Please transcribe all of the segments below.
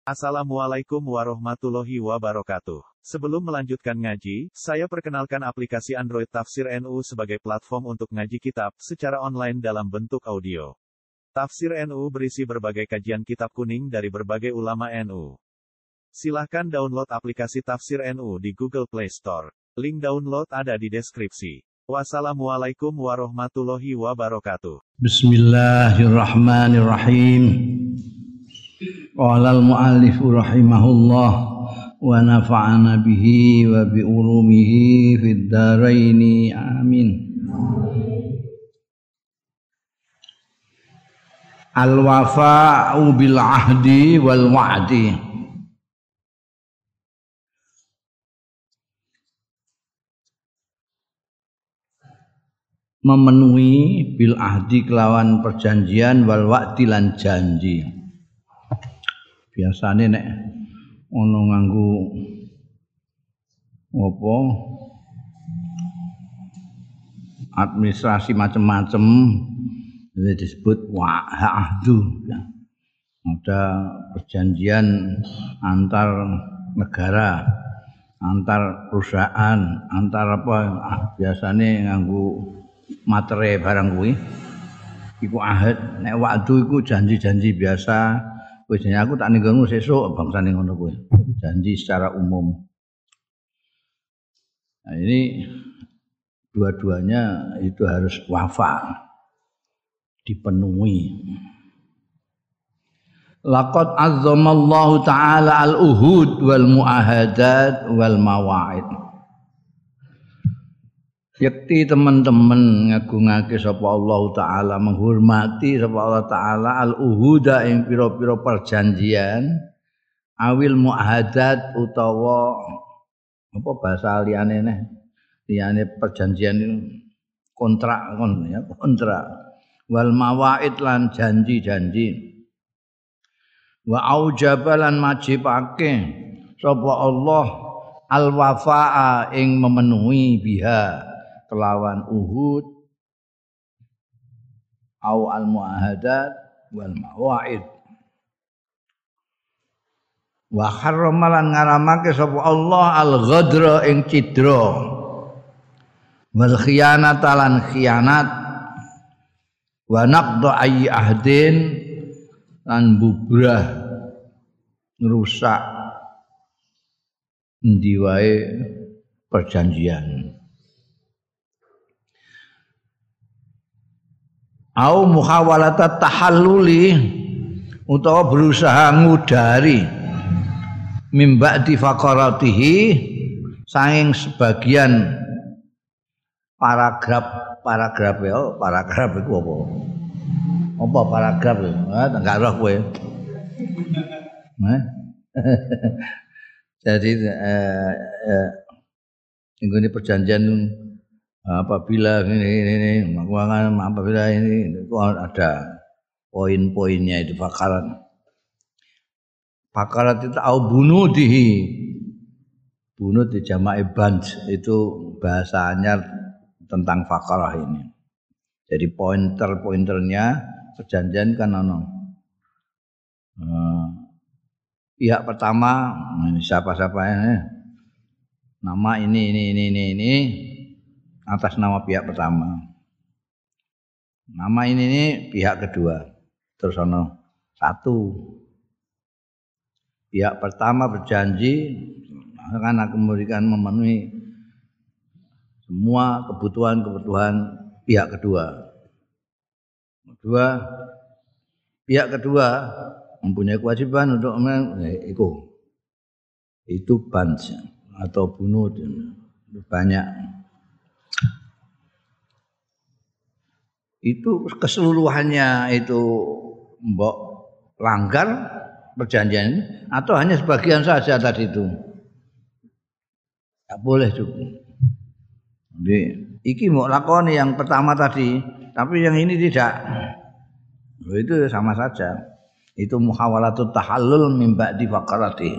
Assalamualaikum warahmatullahi wabarakatuh. Sebelum melanjutkan ngaji, saya perkenalkan aplikasi Android Tafsir NU sebagai platform untuk ngaji kitab secara online dalam bentuk audio. Tafsir NU berisi berbagai kajian kitab kuning dari berbagai ulama NU. Silahkan download aplikasi Tafsir NU di Google Play Store. Link download ada di deskripsi. Wassalamualaikum warahmatullahi wabarakatuh. Bismillahirrahmanirrahim. Qala al-muallif rahimahullah wa nafa'ana bihi wa bi ulumihi fid dharain amin. Al-wafa'u bil ahdi wal wa'di. Memenuhi bil ahdi kelawan perjanjian wal wa'di lan janji. Biasane nek ono nganggo apa administrasi macam-macam disebut wa'ahdu. Ada perjanjian antar negara, antar perusahaan, antar apa biasane nganggo materai barang kuwi iku ahad. Nek wa'du iku janji-janji biasa. Wis aku tak ninggalmu sesuk bangsane ngono kuwi. Janji secara umum. Nah, ini dua-duanya itu harus wafa, dipenuhi. Laqad azzamallahu ta'ala al-uhud wal muahadat wal mawa'id. Yakti teman-teman ngagungake sapa Allah Ta'ala, menghormati sapa Allah Ta'ala al-uhuda ing pira-pira perjanjian awil muahadat utawa apa bahasa liyane neh liyane perjanjian itu kontrak wal mawaid lan janji-janji wa aujabalan majibake sapa Allah al-wafaa ing memenuhi biha kelawan uhud au al-muahadat wal mawaid wa harramalan ngaramake sapa Allah al-ghadra ing cidra wal khiyanata lan khianat wa naqda ayyi ahdin lan bubrah ngrusak endi wae perjanjian. Au muhawalata tahalluli utawa berusaha ngudari mimba di faqaratihi saking sebagian paragraf iku apa? Apa paragraf ya? Enggak roh kowe. Jadi ini perjanjian apabila ini apabila ini itu ada poin-poinnya itu fakarat itu au bunudihi bunud di jama'i band itu bahasanya tentang fakarah ini. Jadi pointernya perjanjian kan pihak pertama siapa-siapa ini nama ini atas nama pihak pertama. Nama ini pihak kedua. Terus satu. Pihak pertama berjanji akan aku memberikan memenuhi semua kebutuhan pihak kedua. Pihak kedua mempunyai kewajiban untuk itu bans atau bunuh banyak. Itu keseluruhannya itu mbok langgar perjanjian atau hanya sebagian saja tadi itu tak boleh juga. Jadi iki mau lakoni yang pertama tadi tapi yang ini tidak, itu sama saja. Itu muhawalatut tahallul min ba'di faqarati.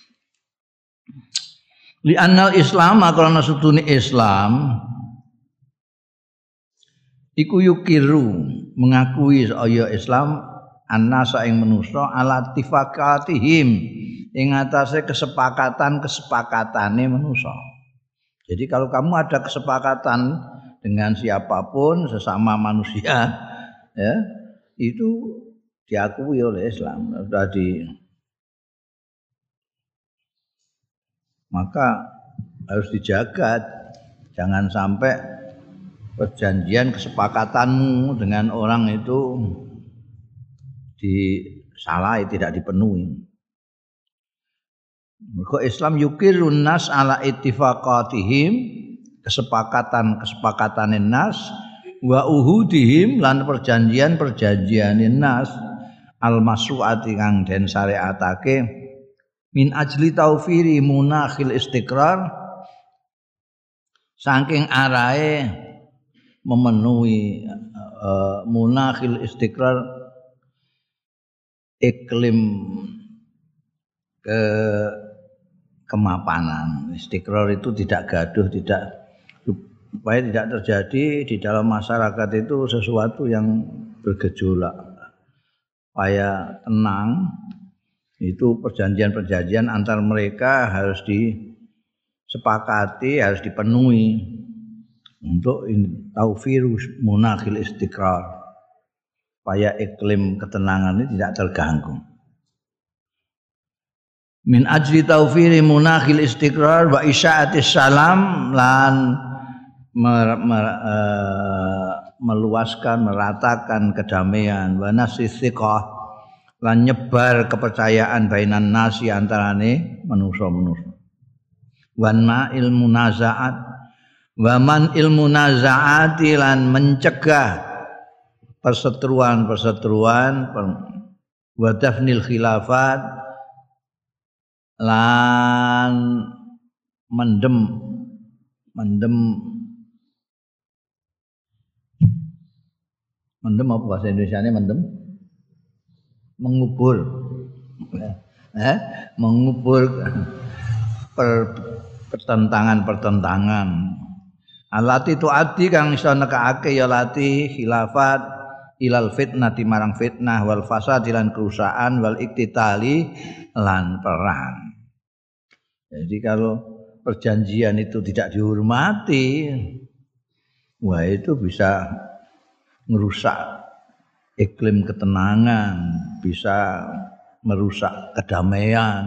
Li annal Islam karena sutune Islam iku yukiru mengakui saya Islam annasa ing manusa ala tifaqatihim ing atase kesepakatane manusa. Jadi kalau kamu ada kesepakatan dengan siapapun sesama manusia ya, itu diakui oleh Islam. Maka harus dijaga, jangan sampai perjanjian kesepakatanmu dengan orang itu disalahi, tidak dipenuhi. Mergo Islam yukirun nas ala ittifaqatihim, kesepakatane nas wa uhudihim lan perjanjiane nas al masruati kang den syariatake min ajli taufiri munakhil istiqrar saking arahe memenuhi munakhil istiqrar iklim kemapanan. Istiqrar itu tidak gaduh, supaya tidak terjadi di dalam masyarakat itu sesuatu yang bergejolak. Supaya tenang, itu perjanjian-perjanjian antar mereka harus disepakati, harus dipenuhi untuk taufirus munakhil istiqrar. Supaya iklim ketenangan ini tidak terganggu. Min ajli taufiri munakhil istiqrar wa isya'atis salam lan meluaskan, meratakan kedamaian wa nasithiqah lan nyebar kepercayaan bainan nasi antarane manusa-manusa. Wan ma'il munazaat wa man ilmu nazaati lan mencegah perseteruan wa dafnil khilafat lan mendem apa bahasa Indonesianya mengubur pertentangan alati tuati kang iso nekake ya lati khilafat ilal fitnati marang fitnah wal fasad lan kerusakan wal iktitali lan perang. Jadi kalau perjanjian itu tidak dihormati, wah itu bisa merusak iklim ketenangan, bisa merusak kedamaian.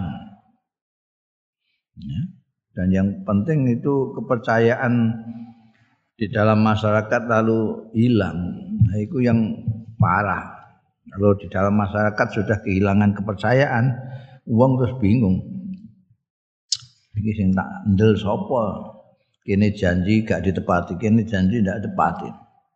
Ya. Dan yang penting itu kepercayaan di dalam masyarakat lalu hilang. Nah, itu yang parah. Kalau di dalam masyarakat sudah kehilangan kepercayaan, wong terus bingung. Iki sing tak ndel sapa? Kene janji gak ditepati, kene janji ndak ditepati.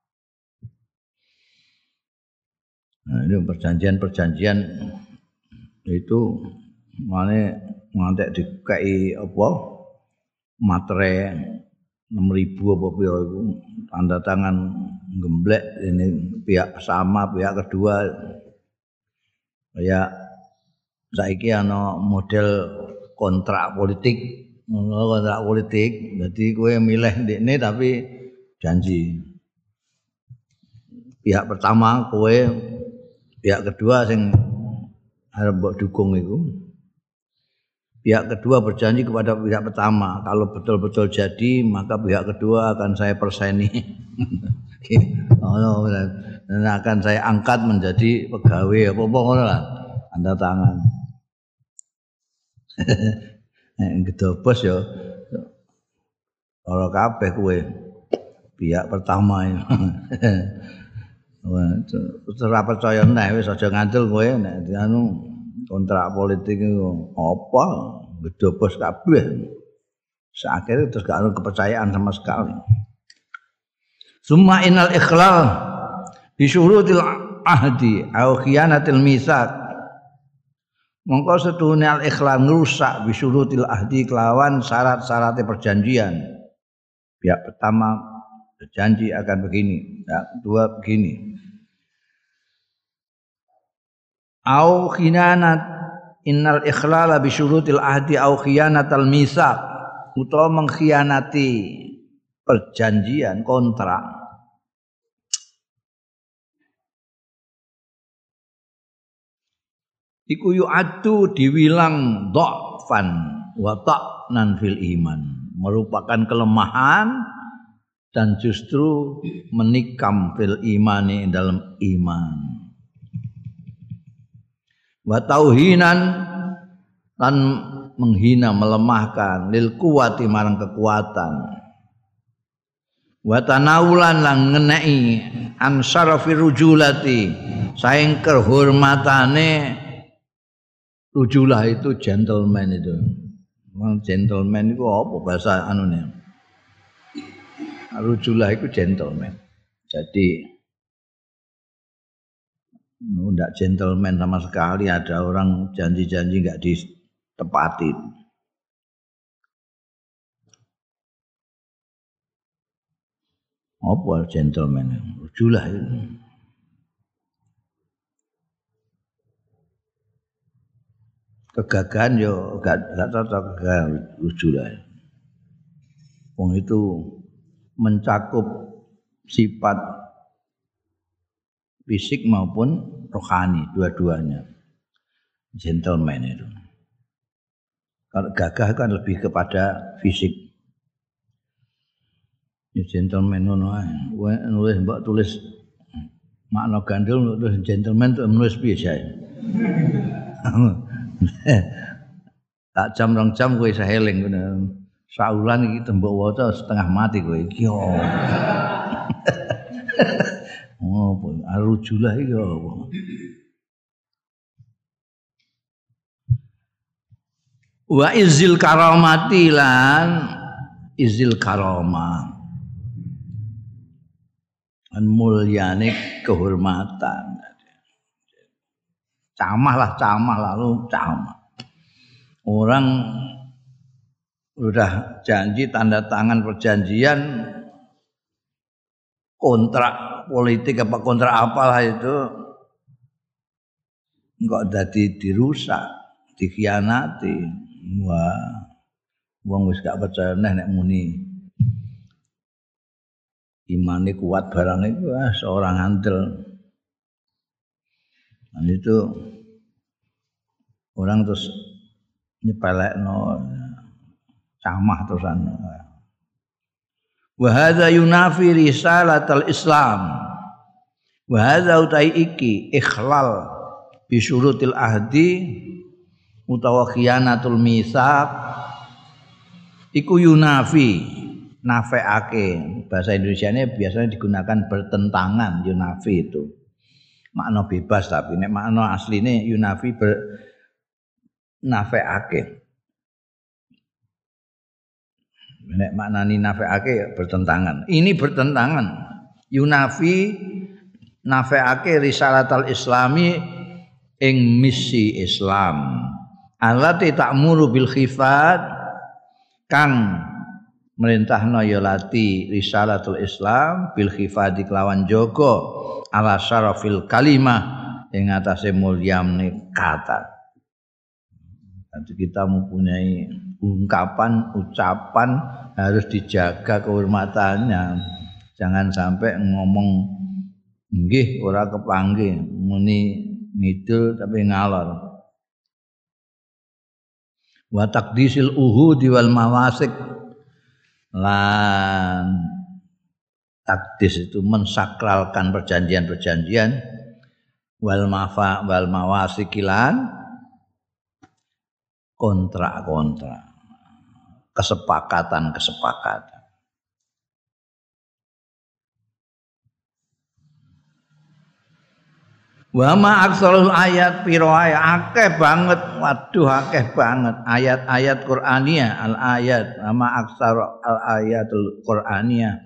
Nah, ini perjanjian-perjanjian itu mane ngantek dikai apa? Matre 6.000 apa pira iku tanda tangan gemblek ini pihak sama pihak kedua. Kayak saiki ana model kontrak politik, jadi kowe milih ndekne tapi janji. Pihak pertama kowe, pihak kedua sing arep mbok dukung iku. Pihak kedua berjanji kepada pihak pertama, kalau betul-betul jadi maka pihak kedua akan saya perseni. Dan akan saya angkat menjadi pegawai apa-apa ngono lah. Tanda tangan. Gedobos ya ora kabeh kowe pihak pertama ya. Ora percaya neh wis aja ngandel kowe nek anu kontrak politik itu apa gedobos kabeh. Akhirnya terus gak ada kepercayaan sama sekali. Summa innal ikhlal bi syurutil ahdi au khiyanatil mitsaq. Mongko setuhune al ikhlal ngrusak bi syurutil ahdi kelawan syarat-syaratnya perjanjian. Pihak pertama berjanji akan begini, pihak kedua begini. Au khiyanat innal ikhlala bi syurutil ahdi au khiyanatal mitsaq utawa mengkhianati perjanjian kontrak iku yu'addu diwilang dhafan wa ta'nan fil iman, merupakan kelemahan dan justru menikam fil imani dalam iman. Wa tauhinan lan menghina, melemahkan lil kuwati marang kekuatan. Wa tanawulan lan ngeneki an syarafi rujulati saing kehormatane rujulah itu gentleman itu. Gentleman itu apa bahasa anune? Rujulah itu gentleman. Jadi enggak gentleman sama sekali, ada orang janji-janji enggak ditepatin. Apa gentleman? Rujulah itu. Kegagahan yo gak cocok rujulah. Wong itu mencakup sifat fisik maupun rohani, dua-duanya. Gentleman itu. Kalau gagah kan lebih kepada fisik. Ya gentleman ngono ae. Nulis mbok tulis makna gandul terus gentleman tuh nulis piye sae. Tak jam 2 jam kowe isa eling ngono. Saulan iki tembok waca setengah mati kowe iki. Oh, arujulah iki apa? Wa izil karamati lan izil karamah. An mulyane kehormatan. Camah lalu camah. Orang udah janji tanda tangan perjanjian kontrak politik apa kontrak apalah itu enggak dadi dirusak, dikhianati. Wah, wong wis gak percaya nek muni imane kuat barang itu seorang handel. Dan itu orang terus nyepelekno camah terusan. Wa hadza yunafi risalatal Islam. Wa hadza utai iki ikhlal bi syurutil ahdi utawa khiyanatul mitsaq iku yunafi nafeake. Bahasa Indonesianya biasanya digunakan bertentangan yunafi itu. Makna bebas tapi nek makna asline yunafi nafeake. Nek maknani nafeake bertentangan. Ini bertentangan. Yunafi nafeake risalatal Islami ing misi Islam. Allati ta'muru bil khifat kang merintahna ya lati risalatul Islam bil khifati kelawan jaga ala syarafil kalimah ing atase mulyane kata. Jadi kita mempunyai ungkapan, ucapan harus dijaga kehormatannya. Jangan sampai ngomong nggih ora kepanggih, muni ngidul tapi ngalor. Wa taqdisil uhudi wal mawasik lan takdis itu mensakralkan perjanjian-perjanjian wal mawasikilan kontrak-kontrak, kesepakatan-kesepakatan. Wa ma aksarul ayat piro ayat akeh banget, waduh akeh banget ayat-ayat Qur'aniyah, al-ayat ma aksar al-ayatul Qur'aniyah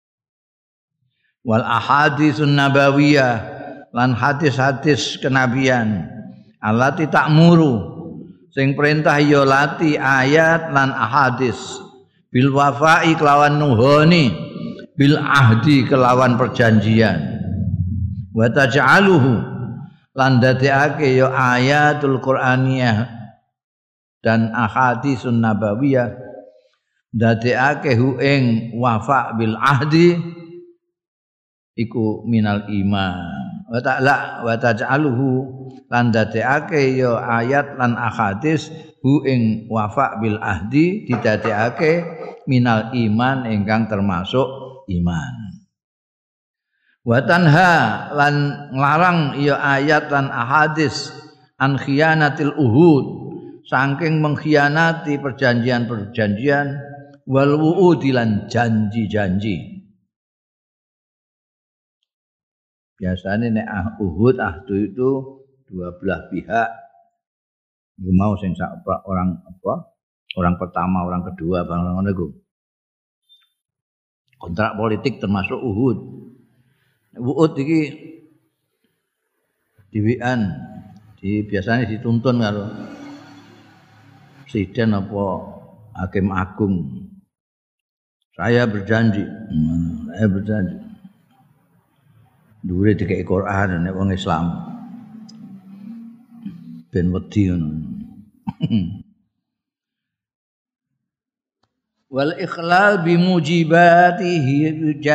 wal ahaditsun nabawiyah lan hadis-hadis kenabian allati ta'muru sing perintah ya lati ayat lan ahadis bil wafa'i kelawan nuhoni bil ahdi kelawan perjanjian wa taj'aluhu lan dadekake ya ayatul Qur'aniyah dan ahadisun nabawiyah dadekake hu ing wafa bil ahdi iku minal iman wa ta'ala wa taj'aluhu lan dadekake ya ayat lan ahadits hu ing wafa bil ahdi didadekake minal iman ingkang termasuk iman. Wa tanha lan nglarang ya ayat lan ahadits an khiyanatil uhud saking mengkhianati perjanjian-perjanjian wal wu'udi lan janji-janji. Biasanya nek Uhud ahdu itu dua belah pihak. Mau sing orang apa? Orang pertama, orang kedua, bang ngono iku. Kontrak politik termasuk Uhud. Uhud iki diwian, biasanya dituntun karo presiden apa hakim agung. Saya berjanji. Dhuwure dikek Quran nek wong Islam. Ben wedi ngono. Wal ikhlal bimujibatihi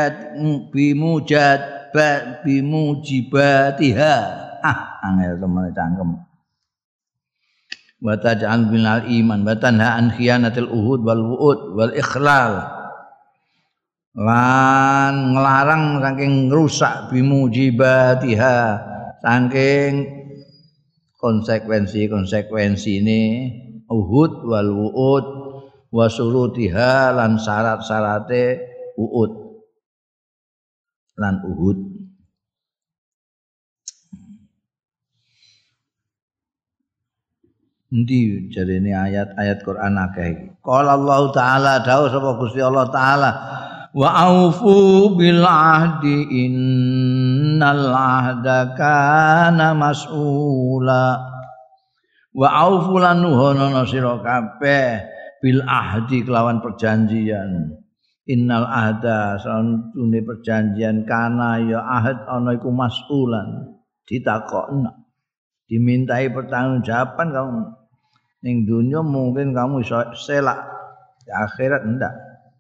bimujibatiha. Angel temen cangkem. Wa taj'al binal iman wa tanha an khiyanatil uhud wal wu'ud wal ikhlal. Lan nglarang saking ngrusak bimujibatiha saking konsekuensi-konsekuensine Uhud wal wu'ud wa surutiha lan syarat-syarate Uhud lan Uhud. Endi jarene ayat-ayat Quran akeh iki. Qala Allah taala dawuh sapa Gusti Allah taala wa aufu bil ahdi innal ahda kana mas'ula wa aufu lan nuhono sira kabeh bil ahdi kelawan perjanjian innal ahda santune perjanjian kana ya ahad ana iku mas'ulan ditakokno dimintai pertanggungjawaban kamu ning dunya mungkin kamu iso selak di akhirat ndak.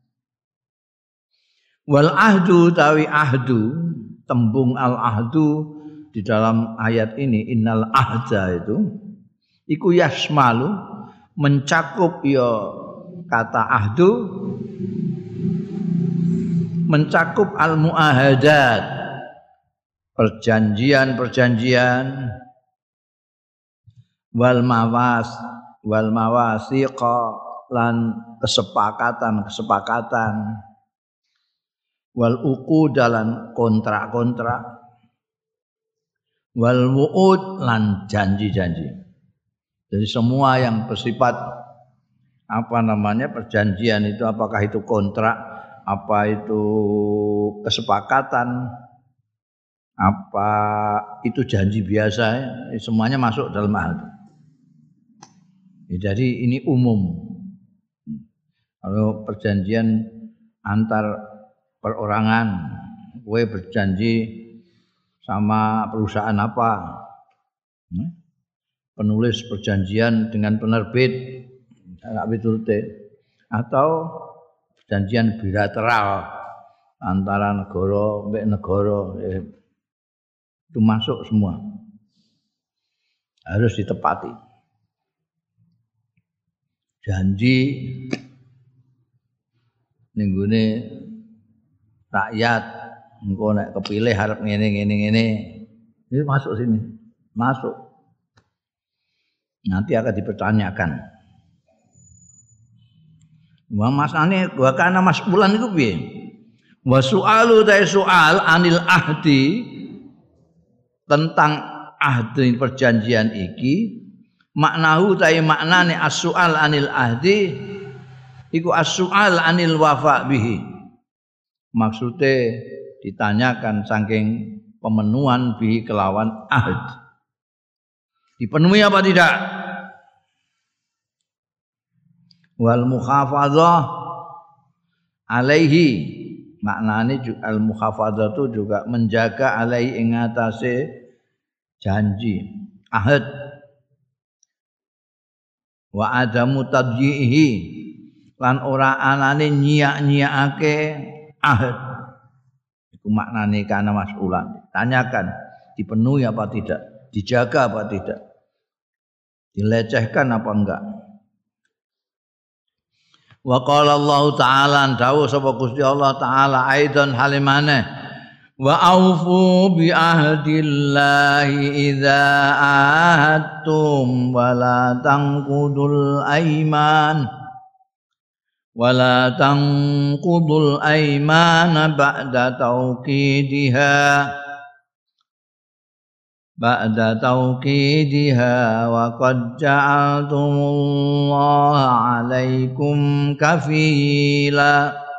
Wal ahdu tawi ahdu tembung al ahdu di dalam ayat ini innal ahda itu iku yasmalu mencakup ya kata ahdu mencakup al muahadat perjanjian-perjanjian wal mawasiqa lan kesepakatan wal uqud dalam kontrak-kontrak wal wu'ud lan janji-janji. Jadi semua yang bersifat perjanjian itu apakah itu kontrak, apa itu kesepakatan, apa itu janji biasa, semuanya masuk dalam hal itu. Jadi ini umum. Kalau perjanjian antar perorangan, gue berjanji sama perusahaan apa, penulis perjanjian dengan penerbit, atau perjanjian bilateral antara negara mbek negara, itu masuk semua, harus ditepati. Janji ninggune rakyat engko nek kepilih harap ngene ini masuk sini, masuk nanti akan dipertanyakan. Wa masane wa kana mas'ulan iku piye? Wa su'alu ta soal anil ahdi tentang ahdi perjanjian iki maknahu ta maknane as-su'al anil ahdi iku as-su'al anil wafa bihi. Maksudnya ditanyakan saking pemenuhan bihi kelawan ahd. Dipenuhi apa tidak? Wal mukhafadzah alaihi maknane al mukhafadzah itu juga menjaga alaihi ing atase janji ahd wa adamu tadyihi lan ora anane nyiak-nyiakake ahd. Itu maknane kana mas'ulan. Tanyakan dipenuhi apa tidak, dijaga apa tidak, dilecehkan apa enggak. Wa qala Allah taala dawuh sapa Gusti Allah taala aidan halimane wa aufu bi ahdillahi idza ahadtum wa la tanqudul aiman ولا تنقضوا الأيمان بعد توكيدها وقد جعلتم الله عليكم كفيلا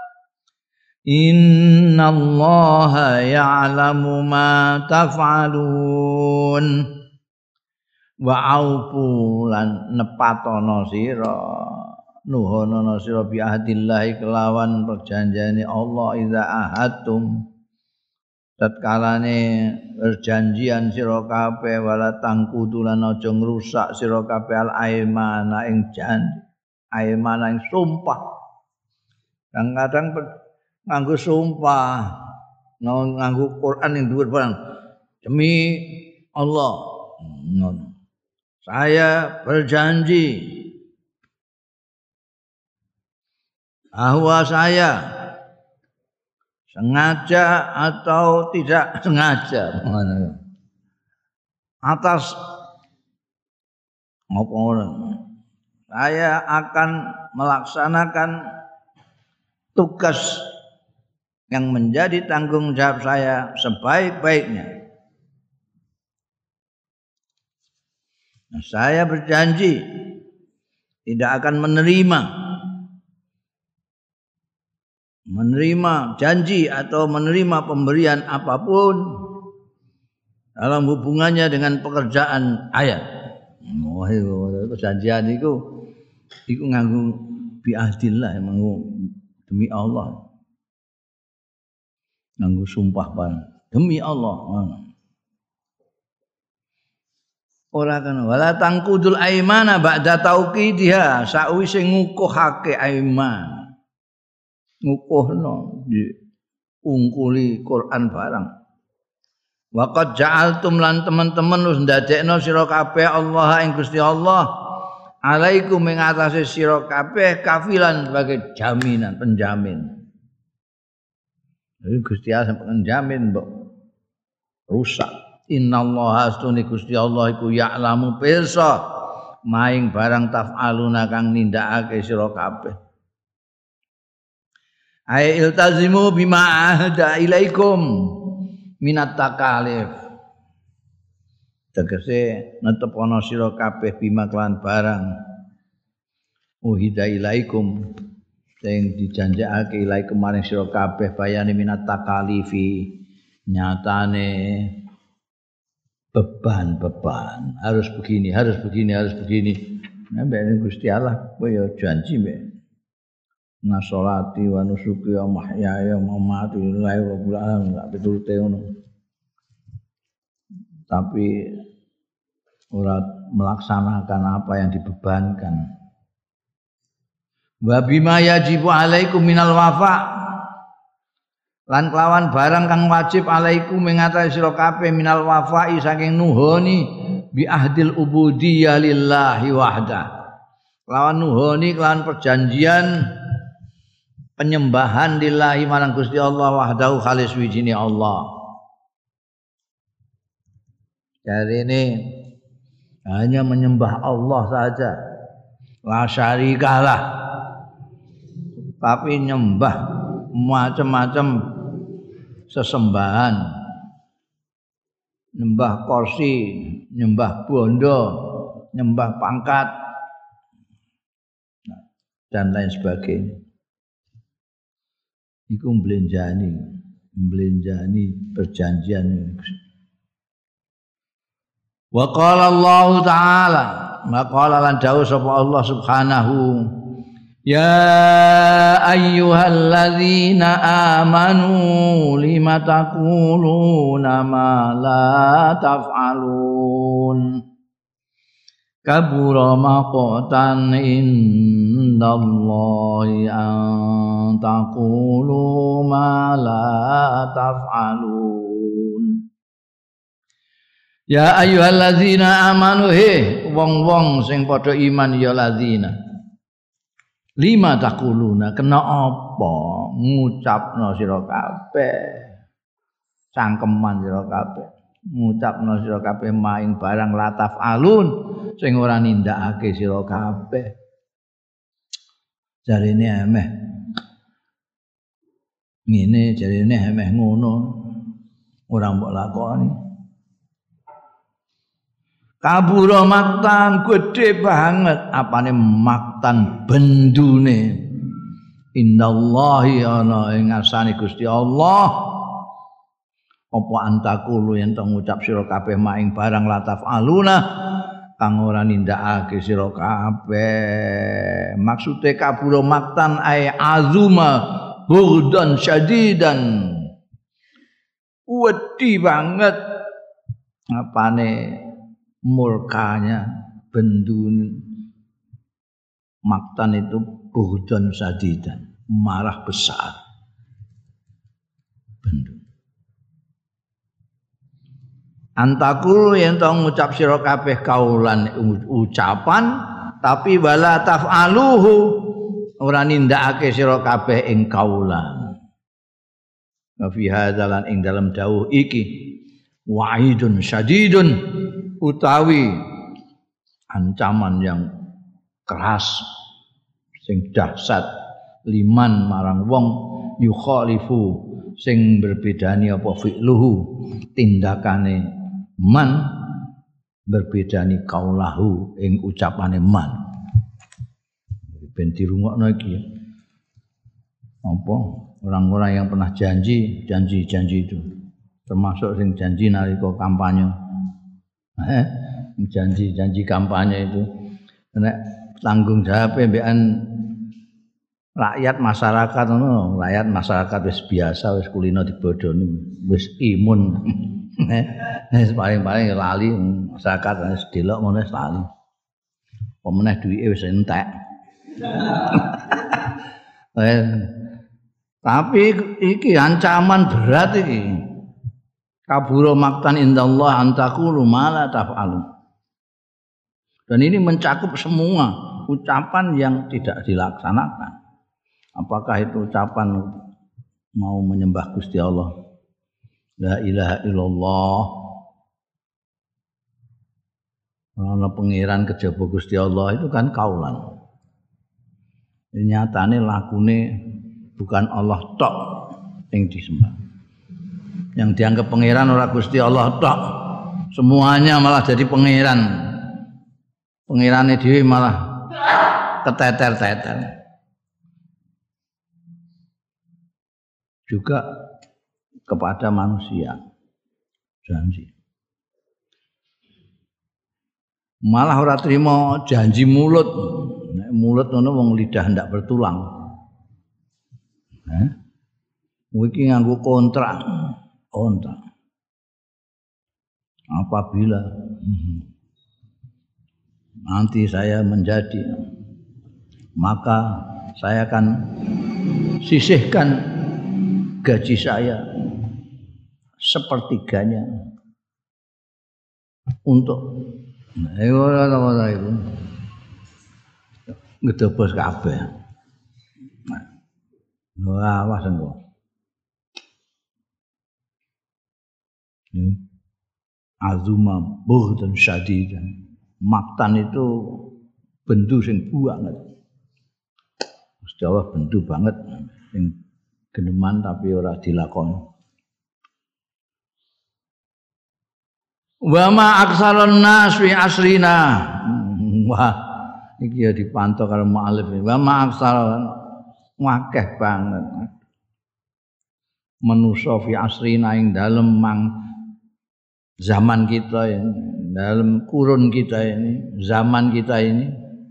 إن الله يعلم ما تفعلون وأوفوا lan nepatono sira nuhono sira bi ahdillahi kelawan perjanjiane Allah idza ahadtum tatkalane perjanjian sira kabeh wala tangkudulan aja ngrusak sira kabeh al aimana ing janji aimana ing sumpah kadang-kadang nganggo sumpah nganggo Quran ing dhuwur barang demi Allah ngono saya berjanji bahwa saya sengaja atau tidak sengaja atas maupun saya akan melaksanakan tugas yang menjadi tanggung jawab saya sebaik-baiknya. Saya berjanji tidak akan menerima janji atau menerima pemberian apapun dalam hubungannya dengan pekerjaan ayat. Wah, perjanjian itu nganggo biahdillah, nganggo demi Allah. Nganggo sumpah demi Allah. Ora kan wala tangkudul aimana ba'da tauqidiha sakwise ngukuhake aiman. Ngukuhno diungkuli Quran barang. Waqad ja'altum lan teman-teman wis ndadekno sira kabeh Allah ing Gusti Allah alaikum ing atase sira kabeh kafilan sebagai jaminan penjamin. Jadi Gusti Allah penjamin mbok rusak. Innallaha astuni Gusti Allah iku ya'lamu pirsa maing barang taf'aluna kang nindakake sira kabeh. Ai iltazimu bima ahda ilaikum minat takalif. Tegese netepono sira kabeh bima kelan barang uhida ilaikum sing dijanjekake ilaikum maring sira kabeh bayane minat takalifi nyatane beban harus begini. Mbek Gusti Allah kowe ya janji mbek nasolati wa nusuki wa mahyaya wa mamati lillahi rabbil alamin gak pitulute ngono. Tapi ora melaksanakan apa yang dibebankan. Wa bima yajibu alaikum minal wafa lan kelawan barang kang wajib alaikum ing atase sira kabeh minal wafa'i saking nuhoni bi ahdil ubudiyyah lillahi wahda. Kelawan nuhoni kelawan perjanjian penyembahan lillahi marang Gusti Allah wahdahu khalis wijine Allah. Jadi ini hanya menyembah Allah saja, la syarikalah. Tapi nyembah macam-macam sesembahan, nyembah kursi, nyembah bondo, nyembah pangkat dan lain sebagainya. Iku mblenjani perjanjian. Wa qala Allah taala, maqala lan dawuh sapa Allah Subhanahu, ya ayyuhalladzina amanu lima taquluna ma la taf'alun kabura maqtan indallahi an taqulu ma la taf'alun. Ya ayyuhallazina amanu he wong-wong sing padha iman ya lazina. Lima taquluna kena apa ngucapno sira kabeh. Cangkeman sira kabeh. Ngucapno sira kabeh maing barang lataf alun sing ora nindakake sira kabeh. Jarine emeh. Ngene jarine emeh ngono. Ora mbok lakoni. Kabura maktan gede banget apane maktan bendune indallahi ana ing ngarsane Gusti Allah apa antakulu yen to ngucap sira kabeh maing barang lataf aluna kang ora nindakake sira kabeh maksude kabura maktan ay azuma bughdan syadidan wedi banget apane murkanya bendun maktan itu bughdan sadidan marah besar bendun antakul yen to ngucap sira kabeh kaulan ucapan tapi wala taf'aluhu ora nindakake sira kabeh ing kaulan wa fi hadzalan ing dalam dawuh iki wa'idun syadidun utawi ancaman yang keras sing dahsyat liman marang wong yukhalifu sing berbedani apa fi'luhu tindakane man berbedani kaulahu ing ucapane man ben dirungokno iki apa orang-orang yang pernah janji itu termasuk sing janji nalika kampanye janji kampanye itu nek tanggung jawab mbekan rakyat masyarakat ngono rakyat masyarakat wis biasa wis kulino dibodoni wis imun paling-paling lali masyarakat wis delok ngono wis lali pemeneh duwike wis entek tapi iki ancaman berat iki kabura maktan indallah antakulu mala taf'alu. Dan ini mencakup semua ucapan yang tidak dilaksanakan. Apakah itu ucapan mau menyembah Gusti Allah, la ilaha illallah, ana pangeran kejaba Gusti Allah itu kan kaulan. Nyatane lakune bukan Allah tok yang disembah. Yang dianggap pangeran ora Gusti Allah tok. Semuanya malah jadi pangeran. Pangerane dhewe malah keteter-teter. Juga kepada manusia. Janji. Malah ora trimo janji mulut. Nek mulut ngono wong lidah ndak bertulang. Iki nganggo kontrak. Apabila nanti saya menjadi maka saya akan sisihkan gaji saya sepertiganya untuk ora itu ngedobos kabeh. Wah, awas engko. Azuma bughdan syadidan maktan itu bendu sing banget Gusti Allah bendu banget sing geneman tapi ora dilakoni wa ma aksarun nas fi asrina wah iki ya dipantau karo mu'alif wa ma aksarun wakeh banget manusa fi asrina ing dalem zaman kita ini, dalam kurun kita ini, zaman kita ini,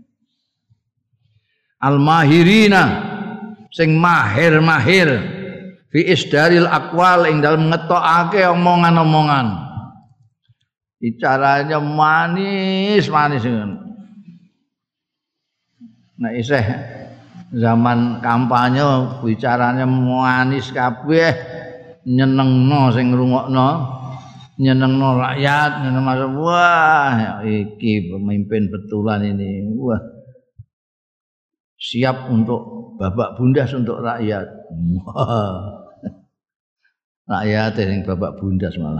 al-mahirina, sing mahir fi isdaril aqwal ing dalam ngetokake omongan-omongan. Bicaranya manis. Nah isih zaman kampanye bicaranya manis kabeh, nyenengno sing ngrungokno. nyenengno rakyat, nyeneng wah iki pemimpin betulan ini. Wah. Siap untuk babak bundas untuk rakyat. Wah. Rakyat yang babak bundas malah.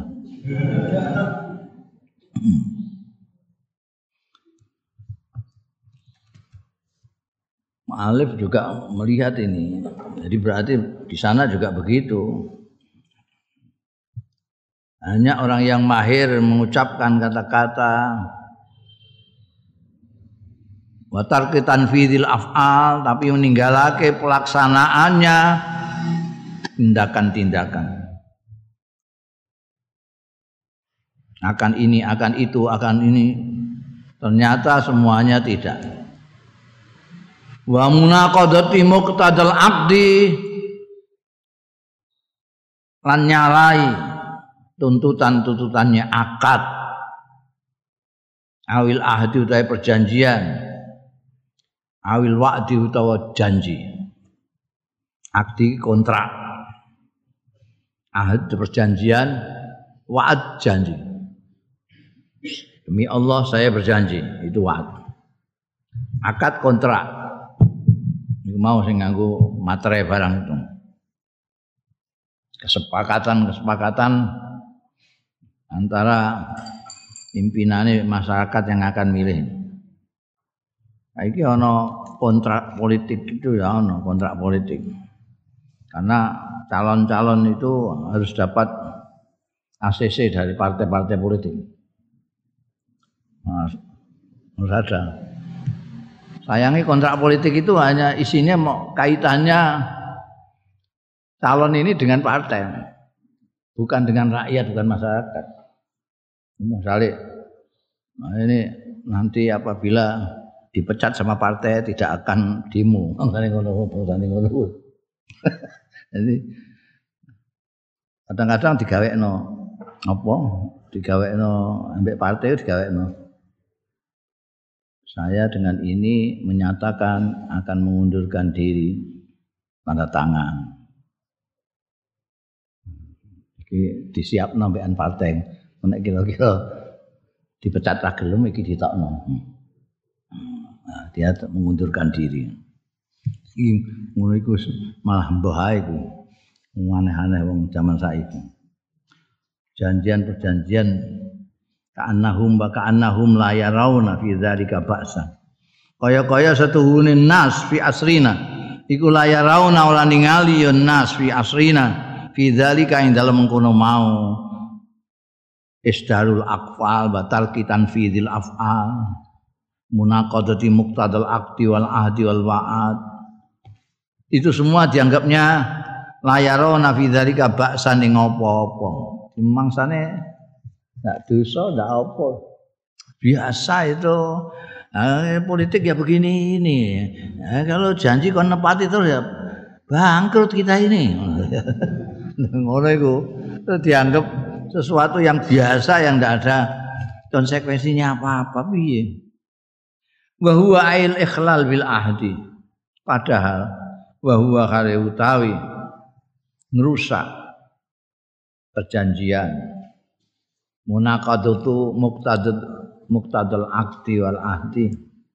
Mu'allif juga melihat ini. Jadi berarti di sana juga begitu. Hanya orang yang mahir mengucapkan kata-kata wa tarki tanfidil af'al, tapi meninggalake pelaksanaannya tindakan-tindakan. Akan ini, akan itu, akan ini. Ternyata semuanya tidak. Wa munaqadati muqtadal aqdi, lan nyalai tuntutan-tuntutannya akad. Awil ahdi utawa perjanjian. Awil wa'di utawa janji. Akdi kontrak. Ahd perjanjian, wa'ad janji. Demi Allah saya berjanji, itu wa'ad. Akad kontrak. Iku mau sing nganggo materai barang itu. Kesepakatan antara pimpinan masyarakat yang akan milih. Iki ana kontrak politik itu ya, ana kontrak politik. Karena calon-calon itu harus dapat ACC dari partai-partai politik. Nah, harus ada. Sayangnya kontrak politik itu hanya isinya mau kaitannya calon ini dengan partai, bukan dengan rakyat, bukan masyarakat. Misalnya, nah ini nanti apabila dipecat sama partai tidak akan demo. Jadi kadang-kadang digawekno apa? Digawekno ambek partai digawekno. Saya dengan ini menyatakan akan mengundurkan diri, tanda tangan. Iki disiap nambekan partai. Nek kira-kira dipecat ra gelem iki ditokno. Nah, dia mengundurkan diri. Iki ngono iku malah mbah ae iku. Aneh-aneh wong zaman saiki. Perjanjian ka'annahum la yarawna fi dzalika ba'sa. Kaya-kaya setuhune nas fi asrina iku la yarawna ora ningali ya nas fi asrina fi dzalika ing dalem mengkono mau isdarul aqfal batal kitan fi dzil af'al munaqadati muqtadal aqdi wal ahdi wal wa'ad. Itu semua dianggapnya la yarawna fi dzalika ba'san ing apa-apa. Dimangsane enggak dosa, enggak apa. Biasa itu. Politik ya begini ini. Kalau janji kon nepati terus ya bangkrut kita ini. Ngono iku. Itu dianggap sesuatu yang biasa yang enggak ada konsekuensinya apa-apa piye. Wa huwa ail ikhlal bil ahdi. Padahal wa huwa kare utawi ngrusak perjanjian. Munaqadatu muqtadal aqdi wal ahdi.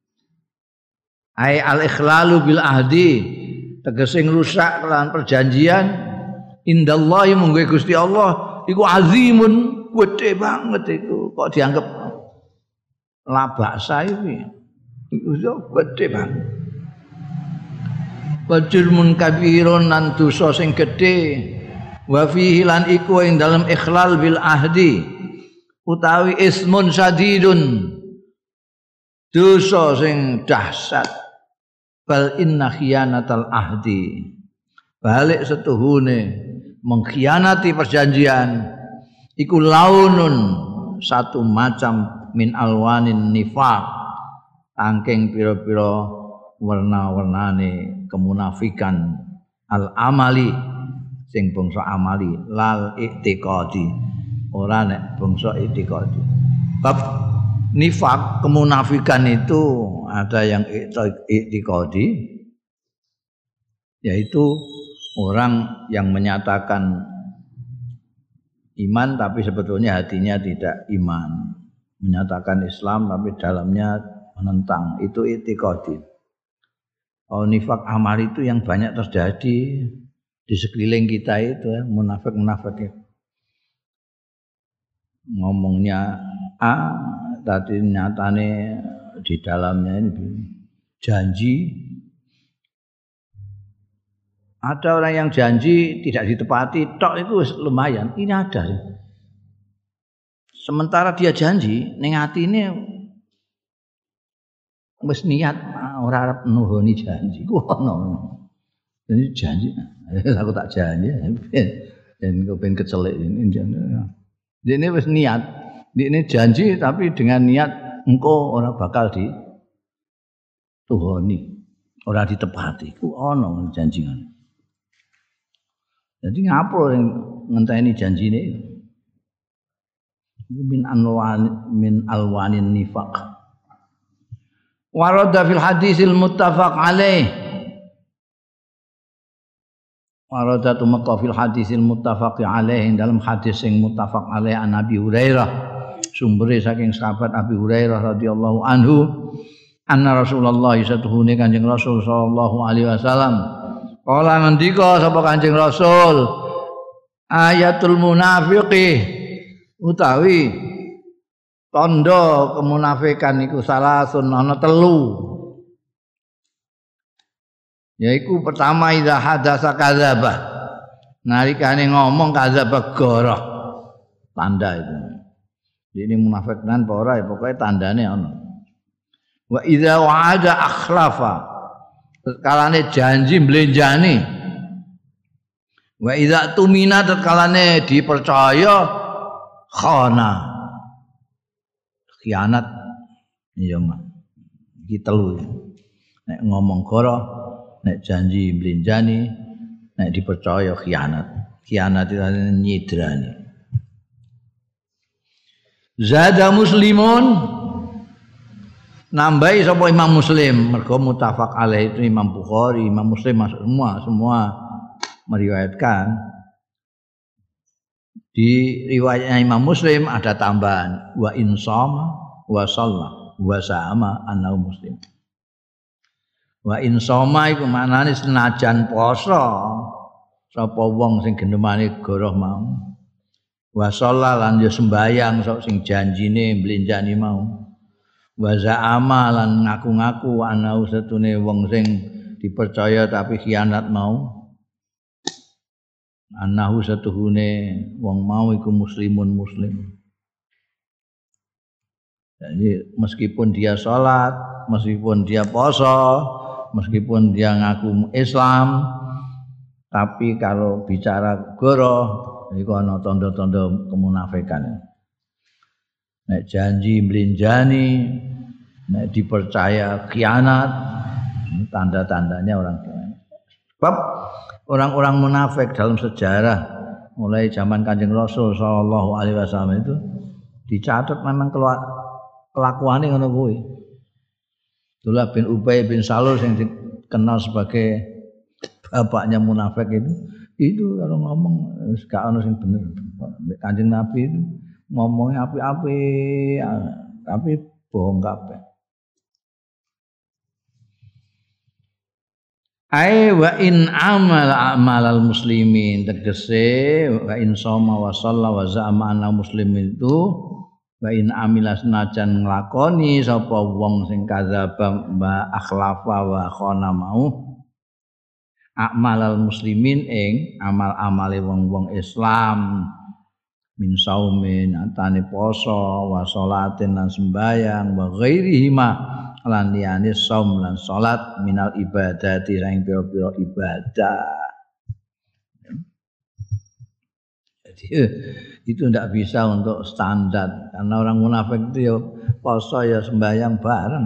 Ai al ikhlalu bil ahdi, tegese ngrusak kelawan perjanjian indallahi munggo Gusti Allah iku azimun, gede banget iku. Kok dianggap labaksa iki. Iku gede banget. Wajurmun kabirun lan dosa sing gedhe. Wa fihi lan iku ing dalem ikhlal bil ahdi. Utawi ismun sadidun, dosa sing dahsyat. Bal inna khiyanatal ahdi, balik setuhune mengkhianati perjanjian iku launun, satu macam min alwanin nifaq, angking pira-pira warna-warnane kemunafikan al amali sing bangsa amali lal i'tiqadi. Ora nek bangsa i'tiqadi. Bab nifak kemunafikan itu ada yang i'tiqadi, yaitu orang yang menyatakan iman tapi sebetulnya hatinya tidak iman, menyatakan Islam tapi dalamnya menentang, itu i'tiqadi. Nifak amal itu yang banyak terjadi di sekeliling kita itu ya, munafik-munafik itu. Ngomongnya A, tapi nyatane di dalamnya ini janji. Ada orang yang janji tidak ditepati, tok itu lumayan. Ini ada. Sementara dia janji, ning atine wis niat ora arep nuhoni janji. Ku ono. Jadi janji, aku tak janji. Dan kau pengen kecelik ini. Dia ini wis niat, dia ini janji tapi dengan niat engkau orang bakal dituhoni, orang ditepati. Ku ono janji kan. Jadi ngapro yang ngenteni janji ini? Min alwanin nifaq. Warada fil hadisil muttafaq alaih. Warada tumeka fil hadisil muttafaq alaih, dalam hadis yang muttafaq alaih an Abi Hurairah, sumbere saking sahabat Abi Hurairah radhiyallahu anhu, anna Rasulullah satuhune Kanjeng Rasul sallallahu alaihi wasallam kala ngendika sapa Kanjeng Rasul, ayatul munafiqi utawi tanda kemunafikan iku salasun ana telu. Yaiku pertama idza hadasa kadzaba. Nalikane ngomong kadzaba goroh. Tanda itu. Ini munafik nan apa ora pokoke tandane ana. Wa idza wa'ada akhlafa. Kalane janji mblenjani. Wa idza tumina kalane dipercaya khana. Khianat iya mah. Iki telu. Nek ngomong goroh, nek janji mblenjani, nek dipercaya khianat. Khianat itu nyidrani. Zada Muslimun, nambahi sapa Imam Muslim, mergo muttafaq alaih itu Imam Bukhari, Imam Muslim masuk semua meriwayatkan. Di riwayatnya Imam Muslim ada tambahan wa insama wa shalla wa sama annahu muslim. Wa insama iku maknane senajan poso sapa wong sing gendemane goroh mau. Wa shalla lan ya sembayang sok sing janjine mblenjani mau. Wa za'ama lan ngaku-ngaku ana setune wong sing dipercaya tapi khianat mau. Anahu satuhune wong mau iku muslimun muslim. Jadi meskipun dia sholat, meskipun dia poso, meskipun dia ngaku Islam, tapi kalau bicara goroh iku ana tanda-tanda kemunafikan. Nek janji mblenjani, nek dipercaya khianat, tanda-tandanya orang khianat. Sebab orang-orang munafik dalam sejarah mulai zaman Kanjeng Rasul sallallahu alaihi wasallam itu dicatat memang kelakuannya ngono kuwi. Abdullah bin Ubay bin Salul yang dikenal sebagai bapaknya munafik itu kalau ngomong gak ono sing bener. Kanjeng Nabi itu ngomongnya api-api tapi bohong kabeh. Ai wa in amal amalal muslimin, tegese wa in shoma wa shalla wa za'ama anna muslimin itu wa in amila senajan nglakoni sapa wong sing kadzaba wa akhlafa wa khana mau amalal muslimin ing amal-amale wong-wong Islam min saumin atane poso wa sholatin lan sembayang wa ghairihima lan liyane saum lan salat minal ibadati sing pira-pira ibadah. Jadi itu tidak bisa untuk standar karena orang munafik itu ya poso ya sembahyang bareng.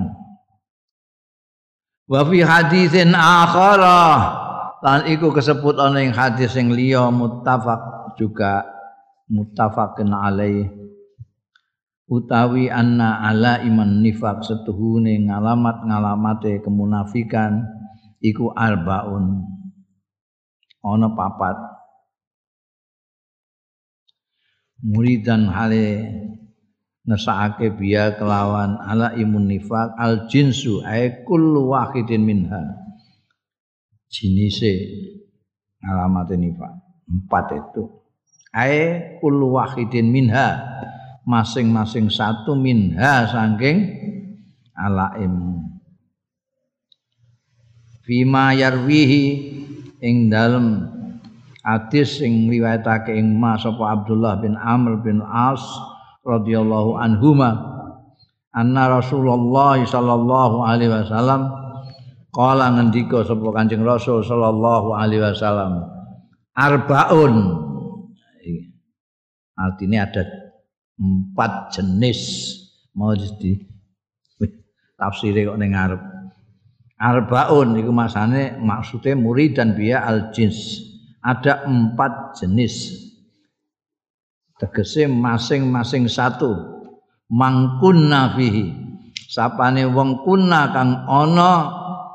Wa fi hadisin akhara lan iku kesebut ana ing hadis sing liya muttafaq juga muttafaqun alaih utawi anna ala iman nifaq setuhune ngalamate kemunafikan iku arbaun ana papat. muridan hale ngesake biya kelawan ala imun nifaq al jinsu ay kullu wahidin minha jinise alamat nifaq 4 itu ay kullu wahidin minha masing-masing satu minha saking alaim fima yarwihi ing dalem hadis sing riwayatake ing Mas sapa Abdullah bin Amr bin As radhiyallahu anhuma anna Rasulullah sallallahu alaihi wasallam qala ngendika sapa Kanjeng Rasul sallallahu alaihi wasallam arbaun artinya ada 4 jenis mau di tafsire kok ning ngarep arbaun iku masane maksude murid dan biya al jins ada 4 jenis tegese masing-masing satu mangkunna fihi sapane wong kunna kang ana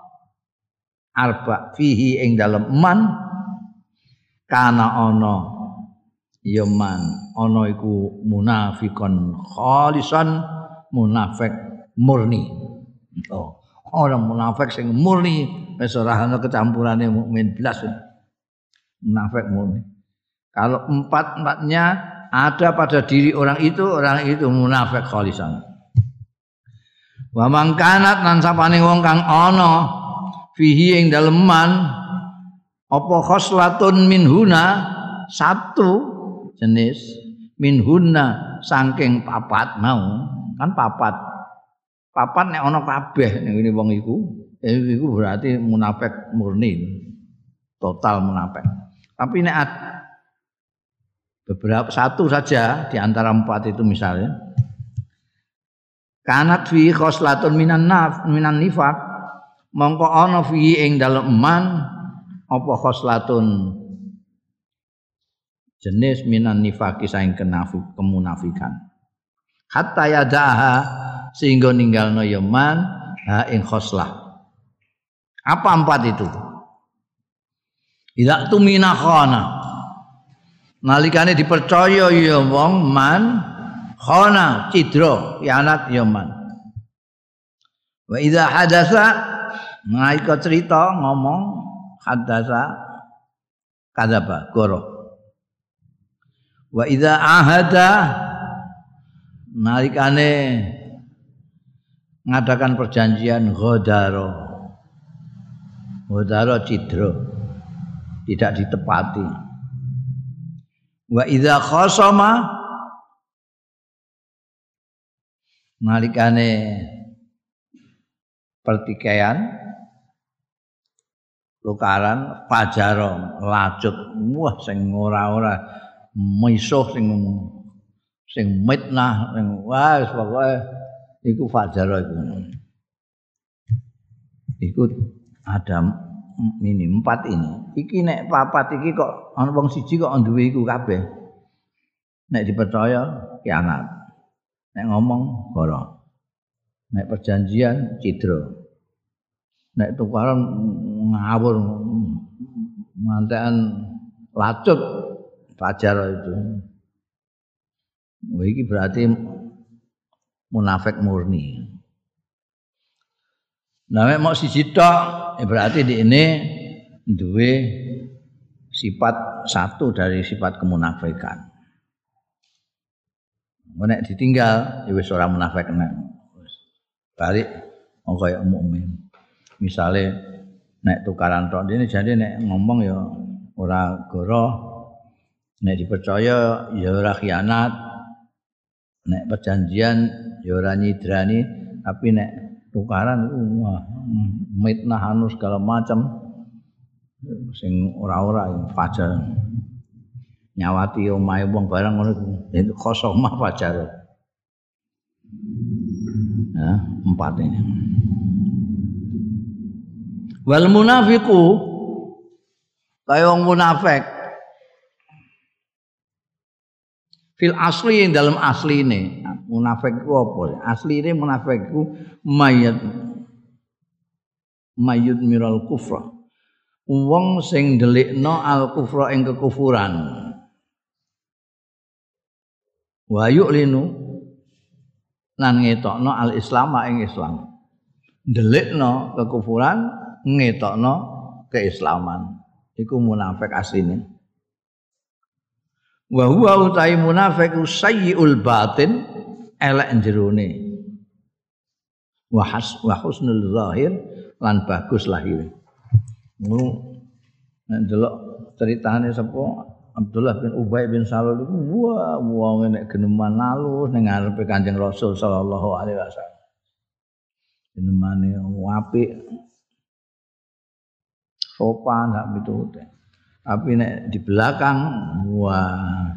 arba fihi ing dalem man kana ana ya man ana iku munafiqon khalisan munafik murni orang munafik sing murni wis ora ana kecampurane mukmin blas munafik murni. Kalau 4-4-nya ada pada diri orang itu munafik khalisan. Wa mangkanat lan sapane wong kang ana fihi ing dalem man apa khoslatun minhuna satu jenis minhuna saking 4 mau kan 4 nek ana kabeh ngene wong iku berarti munafik murni total munafik. Tapi nek beberapa satu saja di antara 4 itu misalnya kanat fi khoslatun minan nifaq mongko ana fi ing dalem man apa khoslatun jenis minan nifaqi saing kemunafikan hatta yadaha sehingga ninggalno ya man ha ing khoslah apa 4 itu ila tumina khana nalikane dipercaya ya wong man khana cidra yanat ya man wa idza hadatsa naika cerita ngomong hadatsa kadzaba goro wa idza ahada nalikane ngadakan perjanjian ghodaro cidra tidak ditepati. Wa idza khasama nalikane pertikaian tukaran fajaro lacut wah sing ora misuh sing mitnah sing wah pokoke iku fajaro iku ada ini 4 ini. Iki nek 4 iki kok ana wong siji kok duwe iku kabeh. Nek dipercaya kianat. Nek ngomong goro. Nek perjanjian cidra. Nek tukaran ngawur mantekan lacut fajar itu. Wah iki berarti munafik murni. Nah nek mau siji tok berarti di ini duwe sifat satu dari sifat kemunafikan. Nek ditinggal ya wis ora munafik nek. Balik kaya mukmin. Misale nek tukaran tok dene jane nek ngomong ya ora goroh. Nek dipercaya ya ora khianat. Nek perjanjian ya ora nyidrani, tapi nek tukaran wah mitnah anu segala macam sing ora-ora fajar nyawati omahe wong barang ngono itu khosomah fajar. Nah, 4 ini. Wal munafiqu kaya wong munafik fil asli yang dalam asli ini munafik itu apa? Asli ini munafik itu mayut miral kufra wong sing ndelikno al kufra ing kekufuran Wa yu'linu lan ngetokno al-islam ing Islam. Ndelikno kekufuran, ngetokno keislaman. Iku munafik asline. Wa huwa utai munafik sayyi'ul batin elek jerone. Wa husnul zahir lan bagus lahir. Nek delok ceritane sapa Abdullah bin Ubay bin Salul iku wong nek geneman alus ning ngarepe Kanjeng Rasul sallallahu alaihi wasallam. Genemane apik. Sopan sak pitute. Tapi nek di belakang wah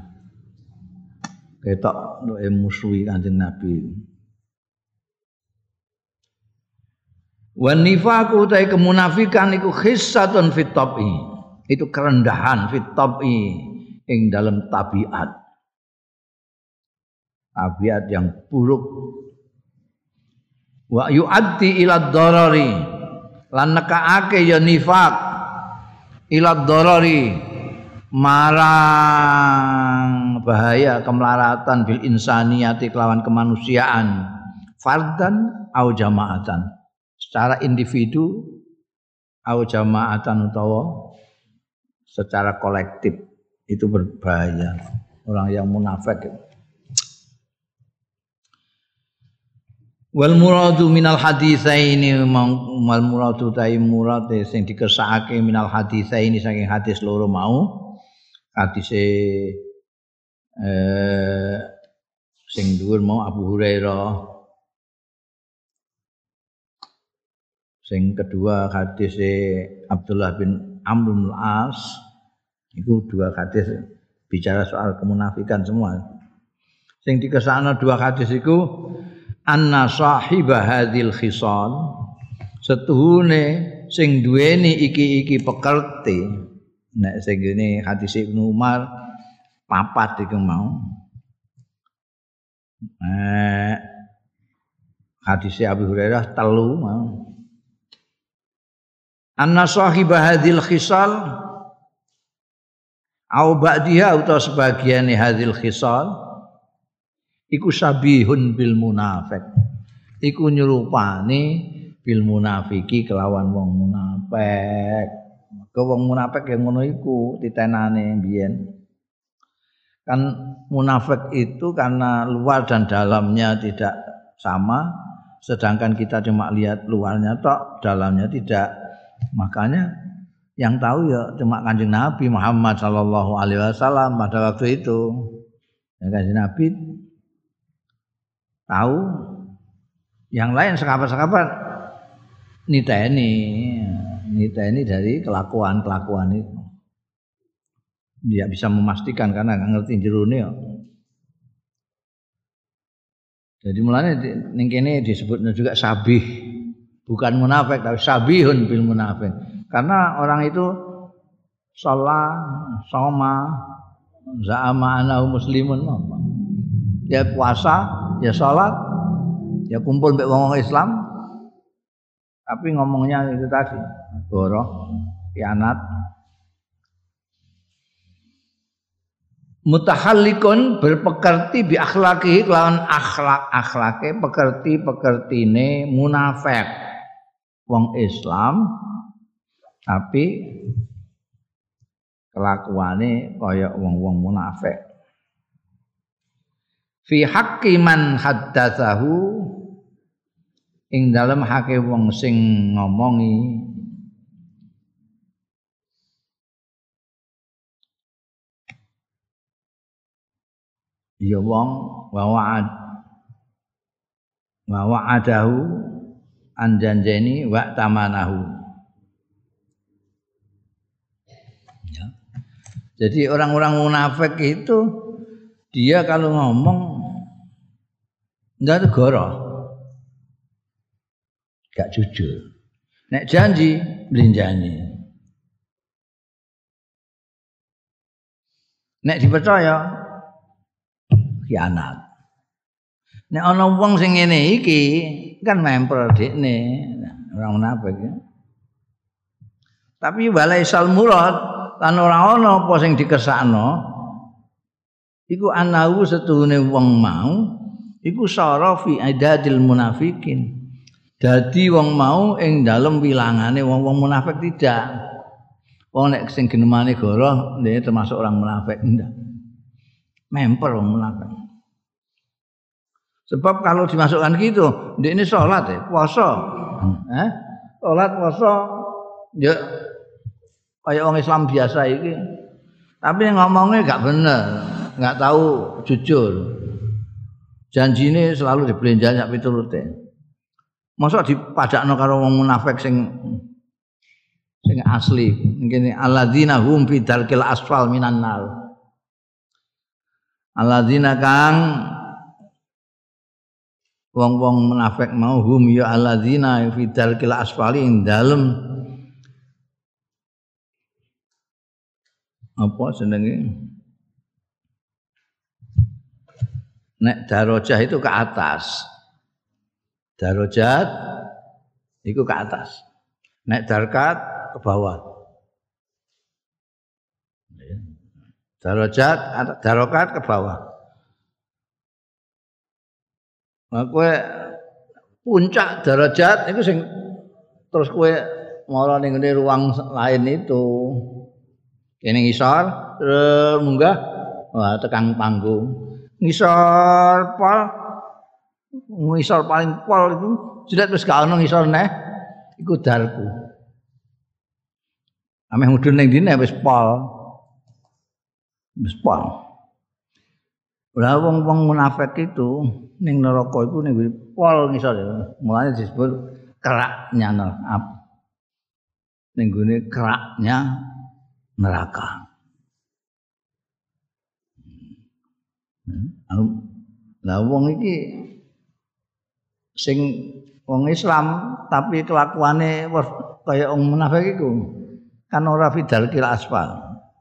ketok musuhi Kanjeng Nabi. Wan nifaqu ta kemunafikan iku khissatun fit tabi. Itu kerendahan fit tabi ing dalam tabiat. Tabiat yang buruk. Wa yu'addi ila dharari lan nekaake ya nifaq ila dharari marang bahaya kemelaratan bil insaniyati kelawan kemanusiaan fardan au jamaatan secara individu au jamaatan utawa secara kolektif itu berbahaya orang yang munafik. Wal muradu minal haditsaini wal muradu ta murad sing dikersakake minal haditsaini saking hadis loro mau hadise sing dhuwur mau Abu Hurairah sing kedua hadise Abdullah bin Amr bin As itu dua hadis bicara soal kemunafikan semua. Sing dikersakno dua hadis iku anna sahiba hadhil khisal setuhune sing duweni iki pekerti nek sing ngene hadis Ibnu Umar papat iku mau hadis Abu Hurairah telu mau anna sahiba hadhil khisal au ba'diha utawa sebagiane hadhil khisal iku sabihun bil munafik. Iku nyerupane bil munafiki kelawan wong munafik. Ke wong munafik yang ngono iku titenane mbiyen. Kan munafik itu karena luar dan dalamnya tidak sama, sedangkan kita cuma lihat luarnya tok, dalamnya tidak. Makanya yang tahu ya cuma Kanjeng Nabi Muhammad sallallahu alaihi wasallam pada waktu itu. Ya, Kanjeng Nabi tahu, yang lain sekapat-sekapat niteni dari kelakuan itu. Dia bisa memastikan karena nggak ngerti jerone ya. Jadi mulanya ning kene disebutnya juga sabih, bukan munafik tapi sabihun bil munafik. Karena orang itu sholat, soma, za'ama anahu muslimun, dia puasa. Ya sholat, ya kumpul mbek wong Islam, tapi ngomongnya itu tadi, goroh, khianat. Mutahallikun berpekerti bi akhlaki kelawan akhlake pekertine munafik wong Islam, tapi kelakuane kaya wong-wong munafik. Fi haqqi man haddatsahu ing dalem hake wong sing ngomongi ya wong wa wa'adahu anjanjeni wa tamanahu ya. Jadi orang-orang munafik itu dia kalau ngomong enggak tegoro, enggak jujur. Nek janji, belinjani. Nek dipercaya, khianat. Nek ana wong sing ngene iki kan memper dekne, orang munafik ya. Tapi walaisal murad lan ora ana apa sing dikersakno iku anahu setuhune wong mau iku sara fi idadil munafikin. Dadi wong mau ing dalem wilangane wong-wong munafik tidak. Wong nek sing genemane goroh dia termasuk orang munafik ndak. Memper wong munafik. Sebab kalau dimasukkan gitu, dia ini sholat ya, puasa. Sholat puasa ya kayak orang Islam biasa ini. Tapi ngomongnya gak bener, gak tahu jujur. Janjine selalu dibelenjakan sak piturute. Masa dipadakno karo wong munafik sing asli. Ngene alladzina hum fi darkil asfal minan nar. Alladzina kang wong-wong munafik mau hum ya alladzina fi darkil asfali ing dalem apa jenenge? Nek darajah itu ke atas. Darajat itu ke atas. Nek darkat ke bawah. Darajat, darokat ke bawah. Nah, kowe puncak darajat itu sing terus kowe mara ning ruang lain itu. Kene ngisor terus munggah wah tekan panggung. Ngisor paling pol itu jelas terus gak ono ngisor neh iku darku. Ameh mudhun ning dine wis pol. Wis pol. Lah wong-wong munafik itu ning neraka iku ning pol ngisor ya. Mulane disebut keraknya neraka. Ning gone keraknya neraka. Lah wong iki sing wong Islam tapi kelakuane kaya wong munafik iku kan ora fidal kil asfal.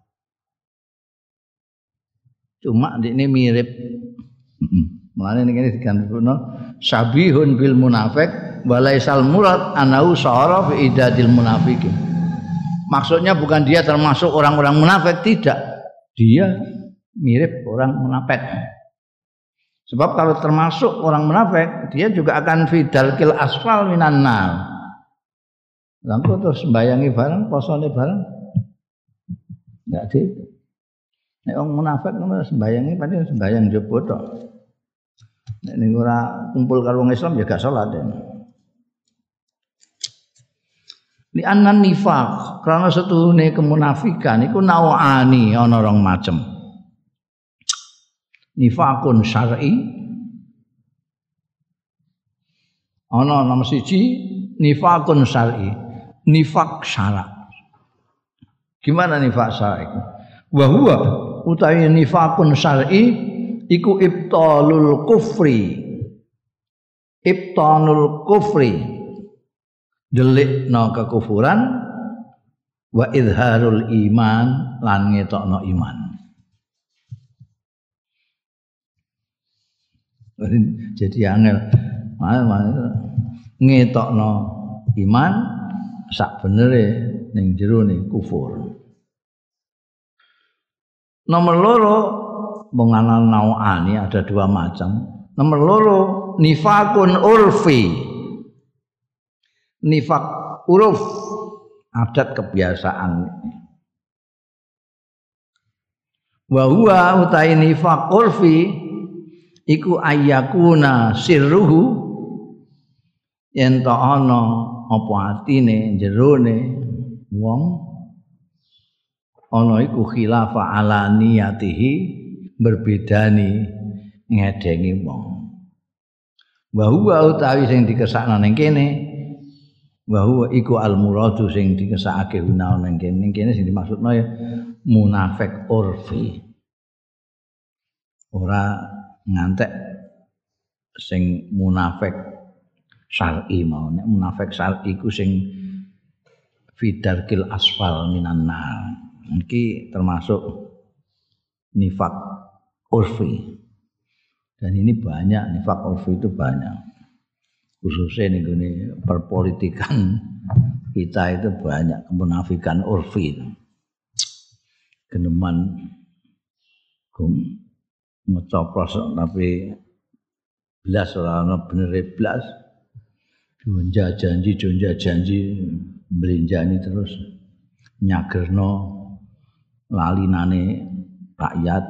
Cuma ndekne mirip. Mulane ngene digantungno sabihun bil munafik walaisal murad anau sara fi idadil munafikin. Maksudnya bukan dia termasuk orang-orang munafik, tidak. Dia mirip orang munafik. Sebab kalau termasuk orang munafik, dia juga akan fidal kil asfal minan nar. Lalu terus sembayangi bareng, posone bareng, enggak sih? Nek wong munafik ngono sembayangi padahal sembayang njaba tok. Nek ning ora kumpul karo wong Islam ya gak salat. Li annan nifaq, karena setuhune kemunafikan iku nauani ana rong macem. Nifaqun syar'i ana nomor siji nifaqun syar'i, nifaq syara'. Gimana nifaq syar'i? Wa huwa utawi nifaqun syar'i iku ibtalul kufri. Ibtalul kufri delikna kekufuran wa izharul iman lan ngetokno iman. Jadi angel ngetokno iman sak benere ning jero ne kufur. Nomor loro mengenal nau'ani ada dua macam. Nomor loro nifakun urfi. Nifak uruf adat kebiasaan. Wa huwa utai nifak urfi iku ayyakuna sirruhu yen ta ana apa atine jerone wong ana iku khilafa ala niyatihi berbedani ngedengi wong. Wa huwa utawi sing dikesakno ning kene wa huwa iku al muradu sing dikesakake guna ning kene sing dimaksudno ya munafik urfi. Ora ngantek sing munafik syar'i mau. Nek munafik syar'i ku sing fidarkil asfal minan nar. Iki termasuk nifak urfi. Dan ini banyak, nifak urfi itu banyak. Khususnya nih perpolitikan kita itu banyak kemunafikan urfi. Geneman ngecoplos tapi belas ora ana benere blas. Jonja janji belinjani terus nyagerno lalinane rakyat.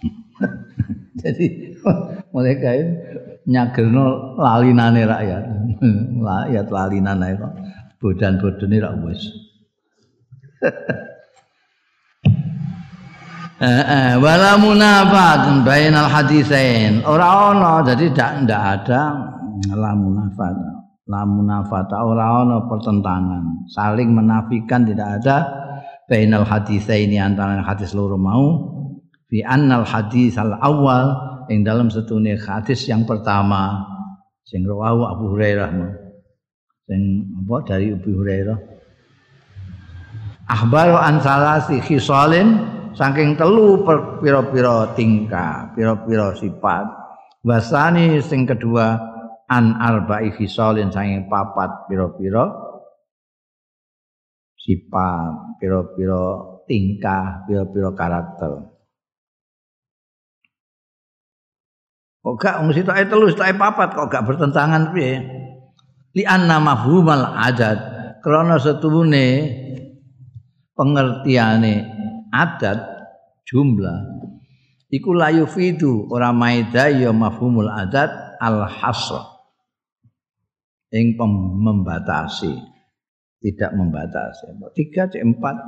Jadi mereka itu nyagerno lalinane rakyat. Rakyat lalinan ae kok bodan-bodone ra wis. Wala munafat bainal hadisain. Ora ana, jadi ndak ada la munafat. La munafat ora ana pertentangan, saling menafikan tidak ada bainal hadisaini antara hadis loro mau fi annal hadis al awal ing dalam setune hadis yang pertama sing rawahu Abu Hurairah sing apa dari Abu Hurairah akhbaru an salasi khisalin saking telu pira-pira tingkah pira-pira sifat wasani sing kedua an arba'i khisalin saking papat pira-pira sifat pira-pira tingkah pira-pira karakter. Kok gak mesti tok telu tok papat kok gak bertentangan piye? Li anna mafhumal adat krana setuhune pengertiane adat jumlah iku la yufidu ora maida ya mafhumul adat al hasr ing membatasi tidak membatasi 3 cek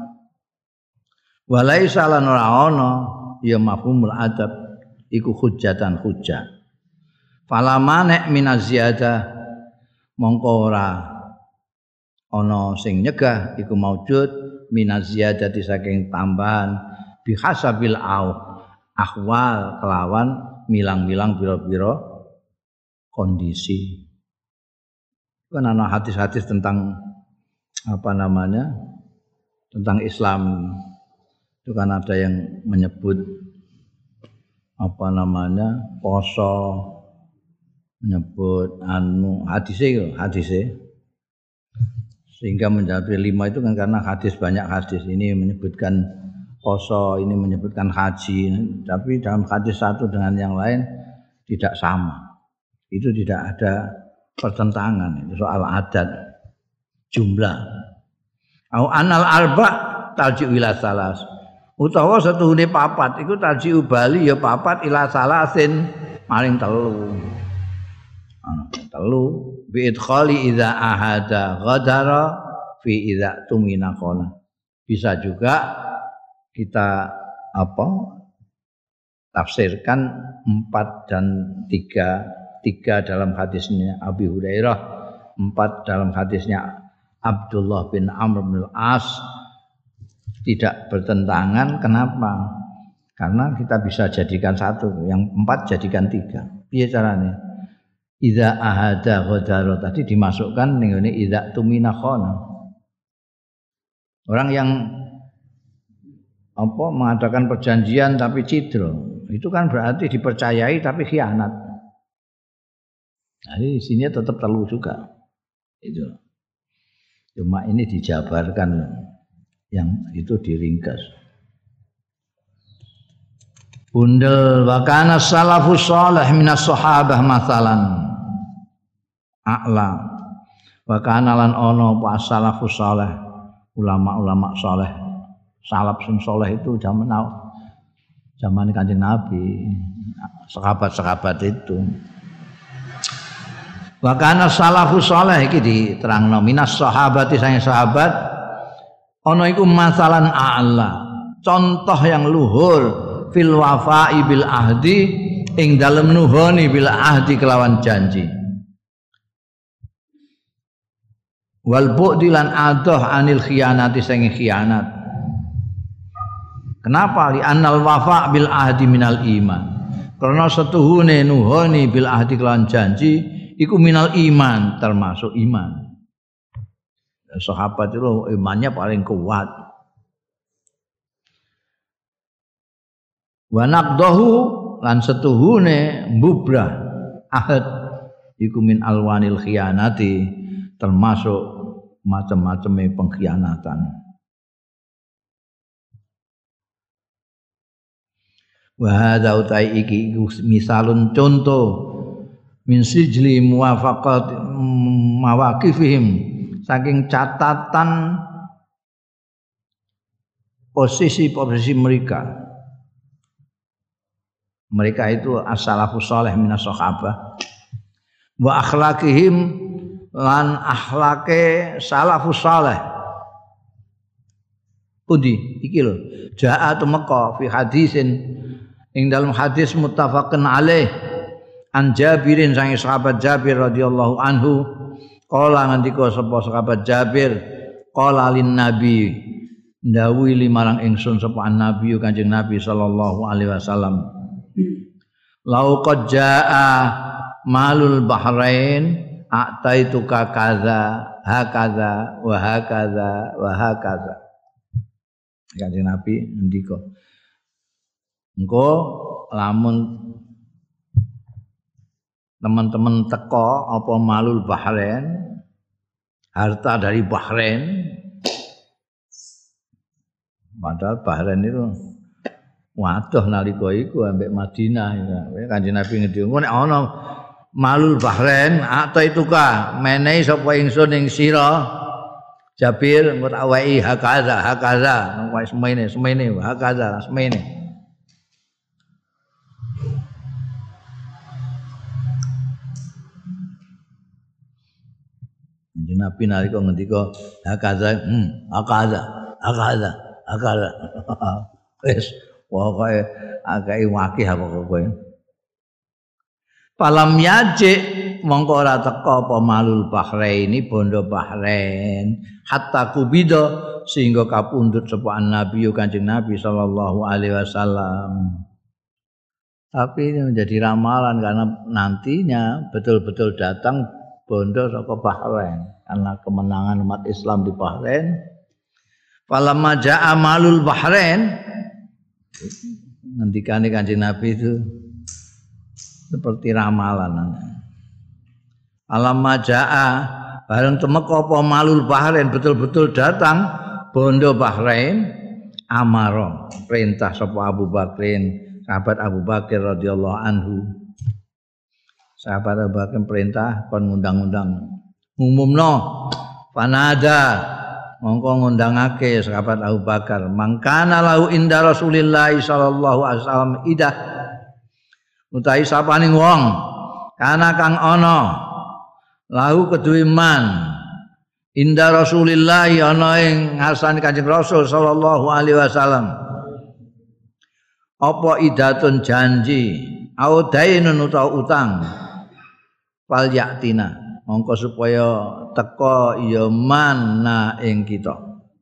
4 walaisa lan ora ana ya mafhumul adat iku hujjatan hujjah fala manek minaz ziyadah mongko ora ana sing nyegah iku maujud minaz ziyadati saking tambahan bihasabil ahwal kelawan milang-milang pira-pira kondisi. Kan ana hadis-hadis tentang apa namanya? Tentang Islam. Itu kan ada yang menyebut apa namanya? Poso, menyebut hadise. Sehingga menjadi 5 itu kan karena hadis banyak hadis ini menyebutkan poso, ini menyebutkan haji, tapi dalam hadis satu dengan yang lain tidak sama. Itu tidak ada pertentangan itu soal adat jumlah. Au anal arba tarji'u ila salas. Utawa setuhune papat iku tarji'u bali ya papat ila salasin maring telu. Telu bi idkhali idza ahada ghadara fi idza tumina qala. Bisa juga kita tafsirkan 4 dan 3 dalam hadisnya Abi Hurairah, 4 dalam hadisnya Abdullah bin Amr bin Al-As tidak bertentangan. Kenapa? Karena kita bisa jadikan satu, yang 4 jadikan 3. Piye caranya? Idza ahada ghadara tadi dimasukkan ning ngene idza tumina khana. Orang yang mengadakan perjanjian tapi cidro, itu kan berarti dipercayai tapi khianat. Jadi di sini tetap telu juga. Itu. Cuma ini dijabarkan yang itu diringkas. Bundel wa kana salafus salih minas sahabah masalan a'la wa kana lan ana apa salafus salih ulama-ulama saleh salaf sing saleh itu zaman Kanjeng Nabi sahabat-sahabat itu wa kana salafus salih iki diterangno minas sahabati sange sahabat ana iku masalan a'la contoh yang luhur fil wafa'i bil ahdi ing dalem nuhoni bil ahdi kelawan janji wal bu'di lan adoh anil khianati sange khianat. Kenapa? Li annal wafa' bil ahdi minal iman. Karena setuhune nuhoni bil ahdi kelawan janji iku minal iman, termasuk iman. Sahabat itu imannya paling kuat. Wa naqdahu lan setuhune mbubrah ahad iku min alwanil khianati, termasuk macam-macamnya pengkhianatan. Wa hadza utai iki misalun contoh min sijli muwafaqat mawaqifihim saking catatan posisi mereka. Mereka itu as-salafus saleh minas sahabah. Wa akhlaqihim lan akhlake salafus saleh. Pundi iki lho. Ja'a tumeka fi hadisin ing dalam hadis muttafaqun alaih an Jabirin sang sahabat Jabir radhiyallahu anhu qala ngendika sapa sahabat Jabir qala lin nabi ndawuhi limarang ingsun sapa nabi Kanjeng Nabi sallallahu alaihi wasallam lau qad jaa malul bahrain a'taituka kaza hakaza wa hakaza wa hakaza. Kanjeng Nabi ngendika engko lamun teman-teman teko apa malul bahrain harta dari Bahrain, padahal Bahrain itu waduh nalika iku ambek Madinah ya. Kanjeng Nabi ngendika nek ana malul Bahrain atau itu ka menehi sapa ingsun ing sira Jabir engko tak wae hakaza wae semene hakaza semene. Kanjeng Nabi nalika ngendika hakaza wis pokoke akeh wakih apa kowe. Falam yaji mongko ora teka apa malul Bahraini bondo Bahrain hatta kubida sehingga kapundhut sapa Nabi Kanjeng Nabi sallallahu alaihi wasallam. Tapi ini menjadi ramalan karena nantinya betul-betul datang bondo saka Bahrain karena kemenangan umat Islam di Bahrain. Falamma jaa malul Bahrain ngendikane Kanjeng Nabi itu seperti ramalan. Alamma jaa bareng temeka apa malul Bahrain betul-betul datang bondo Bahrain amaro perintah sapa Abu Bakrin sahabat Abu Bakar radhiyallahu anhu. Sahabat Abu Bakar perintah kon ngundang-undang ngumumno panada mongko ngundangake sahabat Abu Bakar mangkana lahu inda Rasulillah sallallahu alaihi wasallam idah utahi sapaning wong kana kang ana lahu kedue man inda Rasulillah ana ing ngarsane Kanjeng Rasul sallallahu alaihi wasallam apa idatun janji au dainun utawa utang fal yaktina mongko supaya teka ya mana ing kita.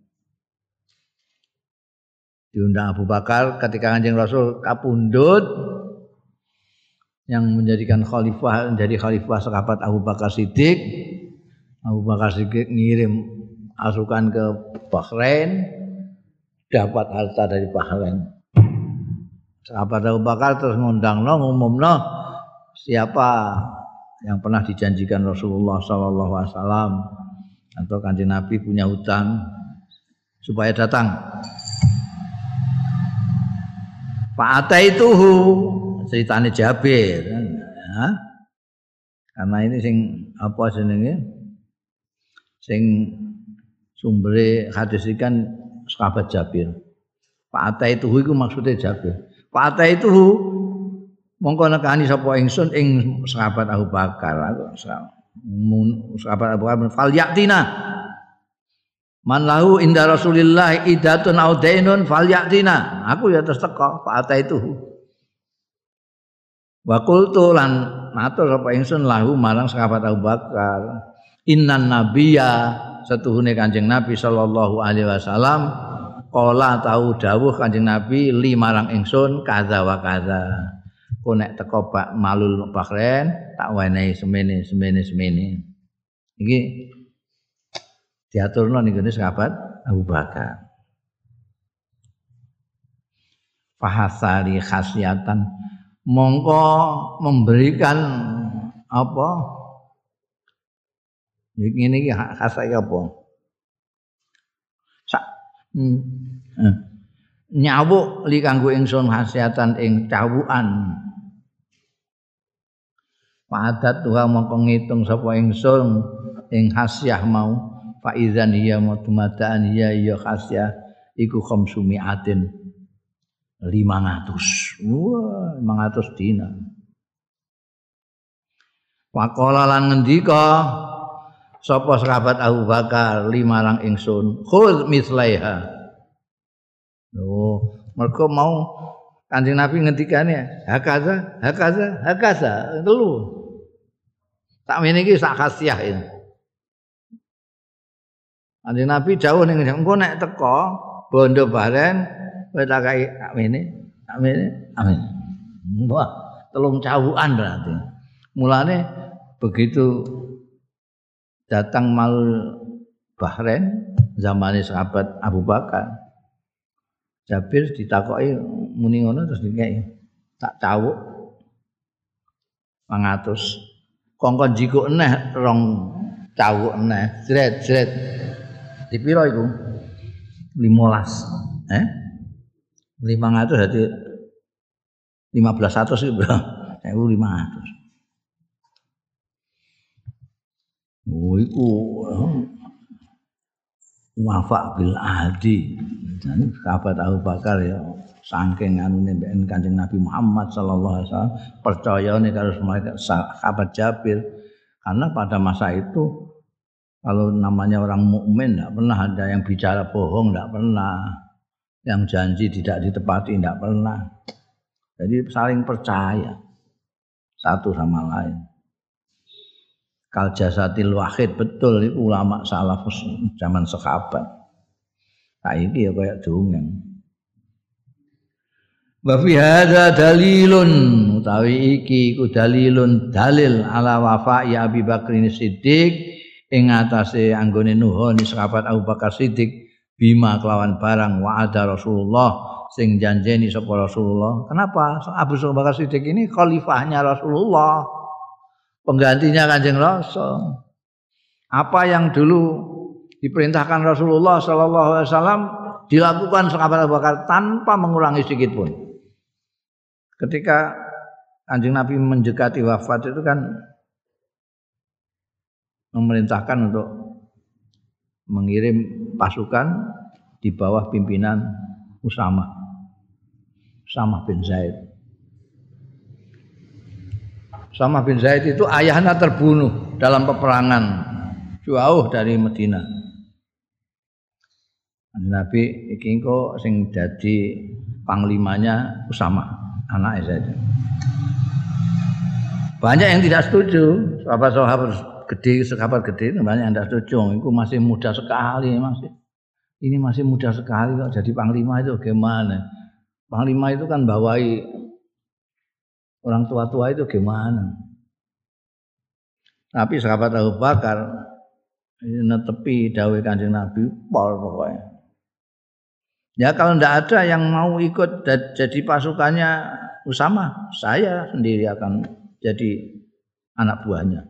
Diundang Abu Bakar ketika Kanjeng Rasul kapundhut yang menjadikan khalifah menjadi khalifah sahabat Abu Bakar Siddiq. Abu Bakar Siddiq ngirim pasukan ke Bahrain dapat harta dari Bahrain. Sahabat Abu Bakar terus ngumumno siapa yang pernah dijanjikan Rasulullah sallallahu alaihi wasallam atau Kanjeng Nabi punya hutang supaya datang. Fa'ataituhu ceritane Jabir. Ya. Karena ini sing apa jenenge? Sing sumbere hadis iki kan sahabat Jabir. Fa'ataituhu iku maksudnya Jabir. Fa'ataituhu mongko nekani sapa ingsun ing sahabat Abu Bakar. Sahabat Abu Bakar fal yaktina. Man lahu inda Rasulillah idatun au dainun fal yaktina. Aku ya terus teka fa'ataituhu. Wa qultu lan matur sapa ingsun lahu marang sahabat Abu Bakar innan nabiyya setuhune Kanjeng Nabi sallallahu alaihi wasallam qala tau dawuh Kanjeng Nabi li marang ingsun kaza wa kaza ku nek teko Pak malul Bahrain tak wenehi semene iki diaturno ning gone sahabat Abu Bakar fahasari khasiatan mongko memberikan apa ngene iki khasai apa nyawuk li kanggo ingsun khasiatan ing cawukan. Padat tuha mongko ngitung sapa ingsun ing khasiah mau fa idzan hiya mudmadaan ya khasiah iku khamsumiatin 500. Wah, 500 dinar. Faqala lan ngendika sapa sahabat Abu Bakar limarang ingsun, khudz mislaiha. Oh, mergo mau Kanjeng Nabi ngendikane hakaza telu. Tak mene iki sak khasiah ini. Kanjeng Nabi dawuh ning engko nek teko bondo baren kowe tak kei mene. Amin. Wah, telung cawukan berarti. Mulane begitu datang mal Bahrain zamane sahabat Abu Bakar. Jabir ditakoki muni ngono terus dikei tak cawuk 500. Kongkon jiko eneh rong cawuk eneh. Jret. Dipiro iku? 15. 500 dadi 1500 iki, Bro. 1500. Oh iku wafa bil ahdi. Jadi sahabat Abu Bakar ya saking anune mbek Kanjeng Nabi Muhammad sallallahu alaihi wasallam percayane karo sahabat Jabir karena pada masa itu kalau namanya orang mukmin enggak pernah ada yang bicara bohong, enggak pernah yang janji tidak ditepati, enggak pernah. Jadi saling percaya satu sama lain. Kal jasatil wahid betul itu ulama salafus zaman sahabat. Saiki ya kaya dongeng. Wa fi hadza dalilun utawi iki iku dalilun dalil ala wafa'i Abi Bakrin Siddiq ing atase anggone nuhoni sahabat Abu Bakar Siddiq bima kelawan barang wa'ada Rasulullah sing janjeni sapa Rasulullah. Kenapa? Abu Bakar Siddiq ini khalifahnya Rasulullah. Penggantinya Kanjeng Rasul. Apa yang dulu diperintahkan Rasulullah sallallahu alaihi wasallam dilakukan sahabat Abu Bakar tanpa mengurangi sedikit pun. Ketika Kanjeng Nabi mendekati wafat itu kan memerintahkan untuk mengirim pasukan di bawah pimpinan Usamah bin Zaid. Usamah bin Zaid itu ayahnya terbunuh dalam peperangan jauh dari Madinah. Nabi iki engko sing dadi panglimanya Usamah, anak Zaid. Banyak yang tidak setuju, sahabat gede banyak yang tidak setuju. Itu masih muda sekali Ini masih muda sekali kok jadi panglima itu gimana? Panglima itu kan bawahi orang tua-tua itu gimana? Tapi sahabat Abu Bakar netepi dawuh Kanjeng Nabi pol pokoknya. Ya kalau tidak ada yang mau ikut jadi pasukannya Usamah, saya sendiri akan jadi anak buahnya.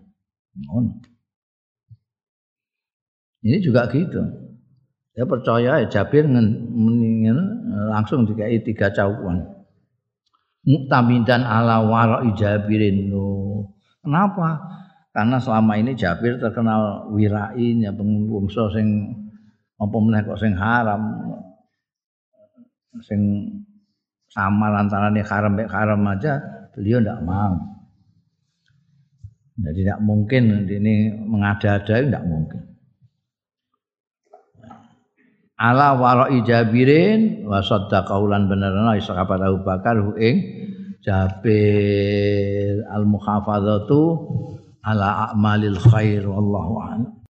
Ini juga gitu. Saya percaya Jabir langsung dikai 3 cawukan. Muktamidan ala wara'i Jabirin. Kenapa? Karena selama ini Jabir terkenal wirainya pengungso sing apa meneh kok sing haram. Sing samar antarane haram mek haram aja beliau ndak mau. Jadi tidak mungkin ini mengada-ada, tidak mungkin. Ala wara'i Jabirin wa saddaqahu lan benerna sahabat Abu Bakar ing Jabir al-muhafadzatu ala a'malil khair wallahu a'lam.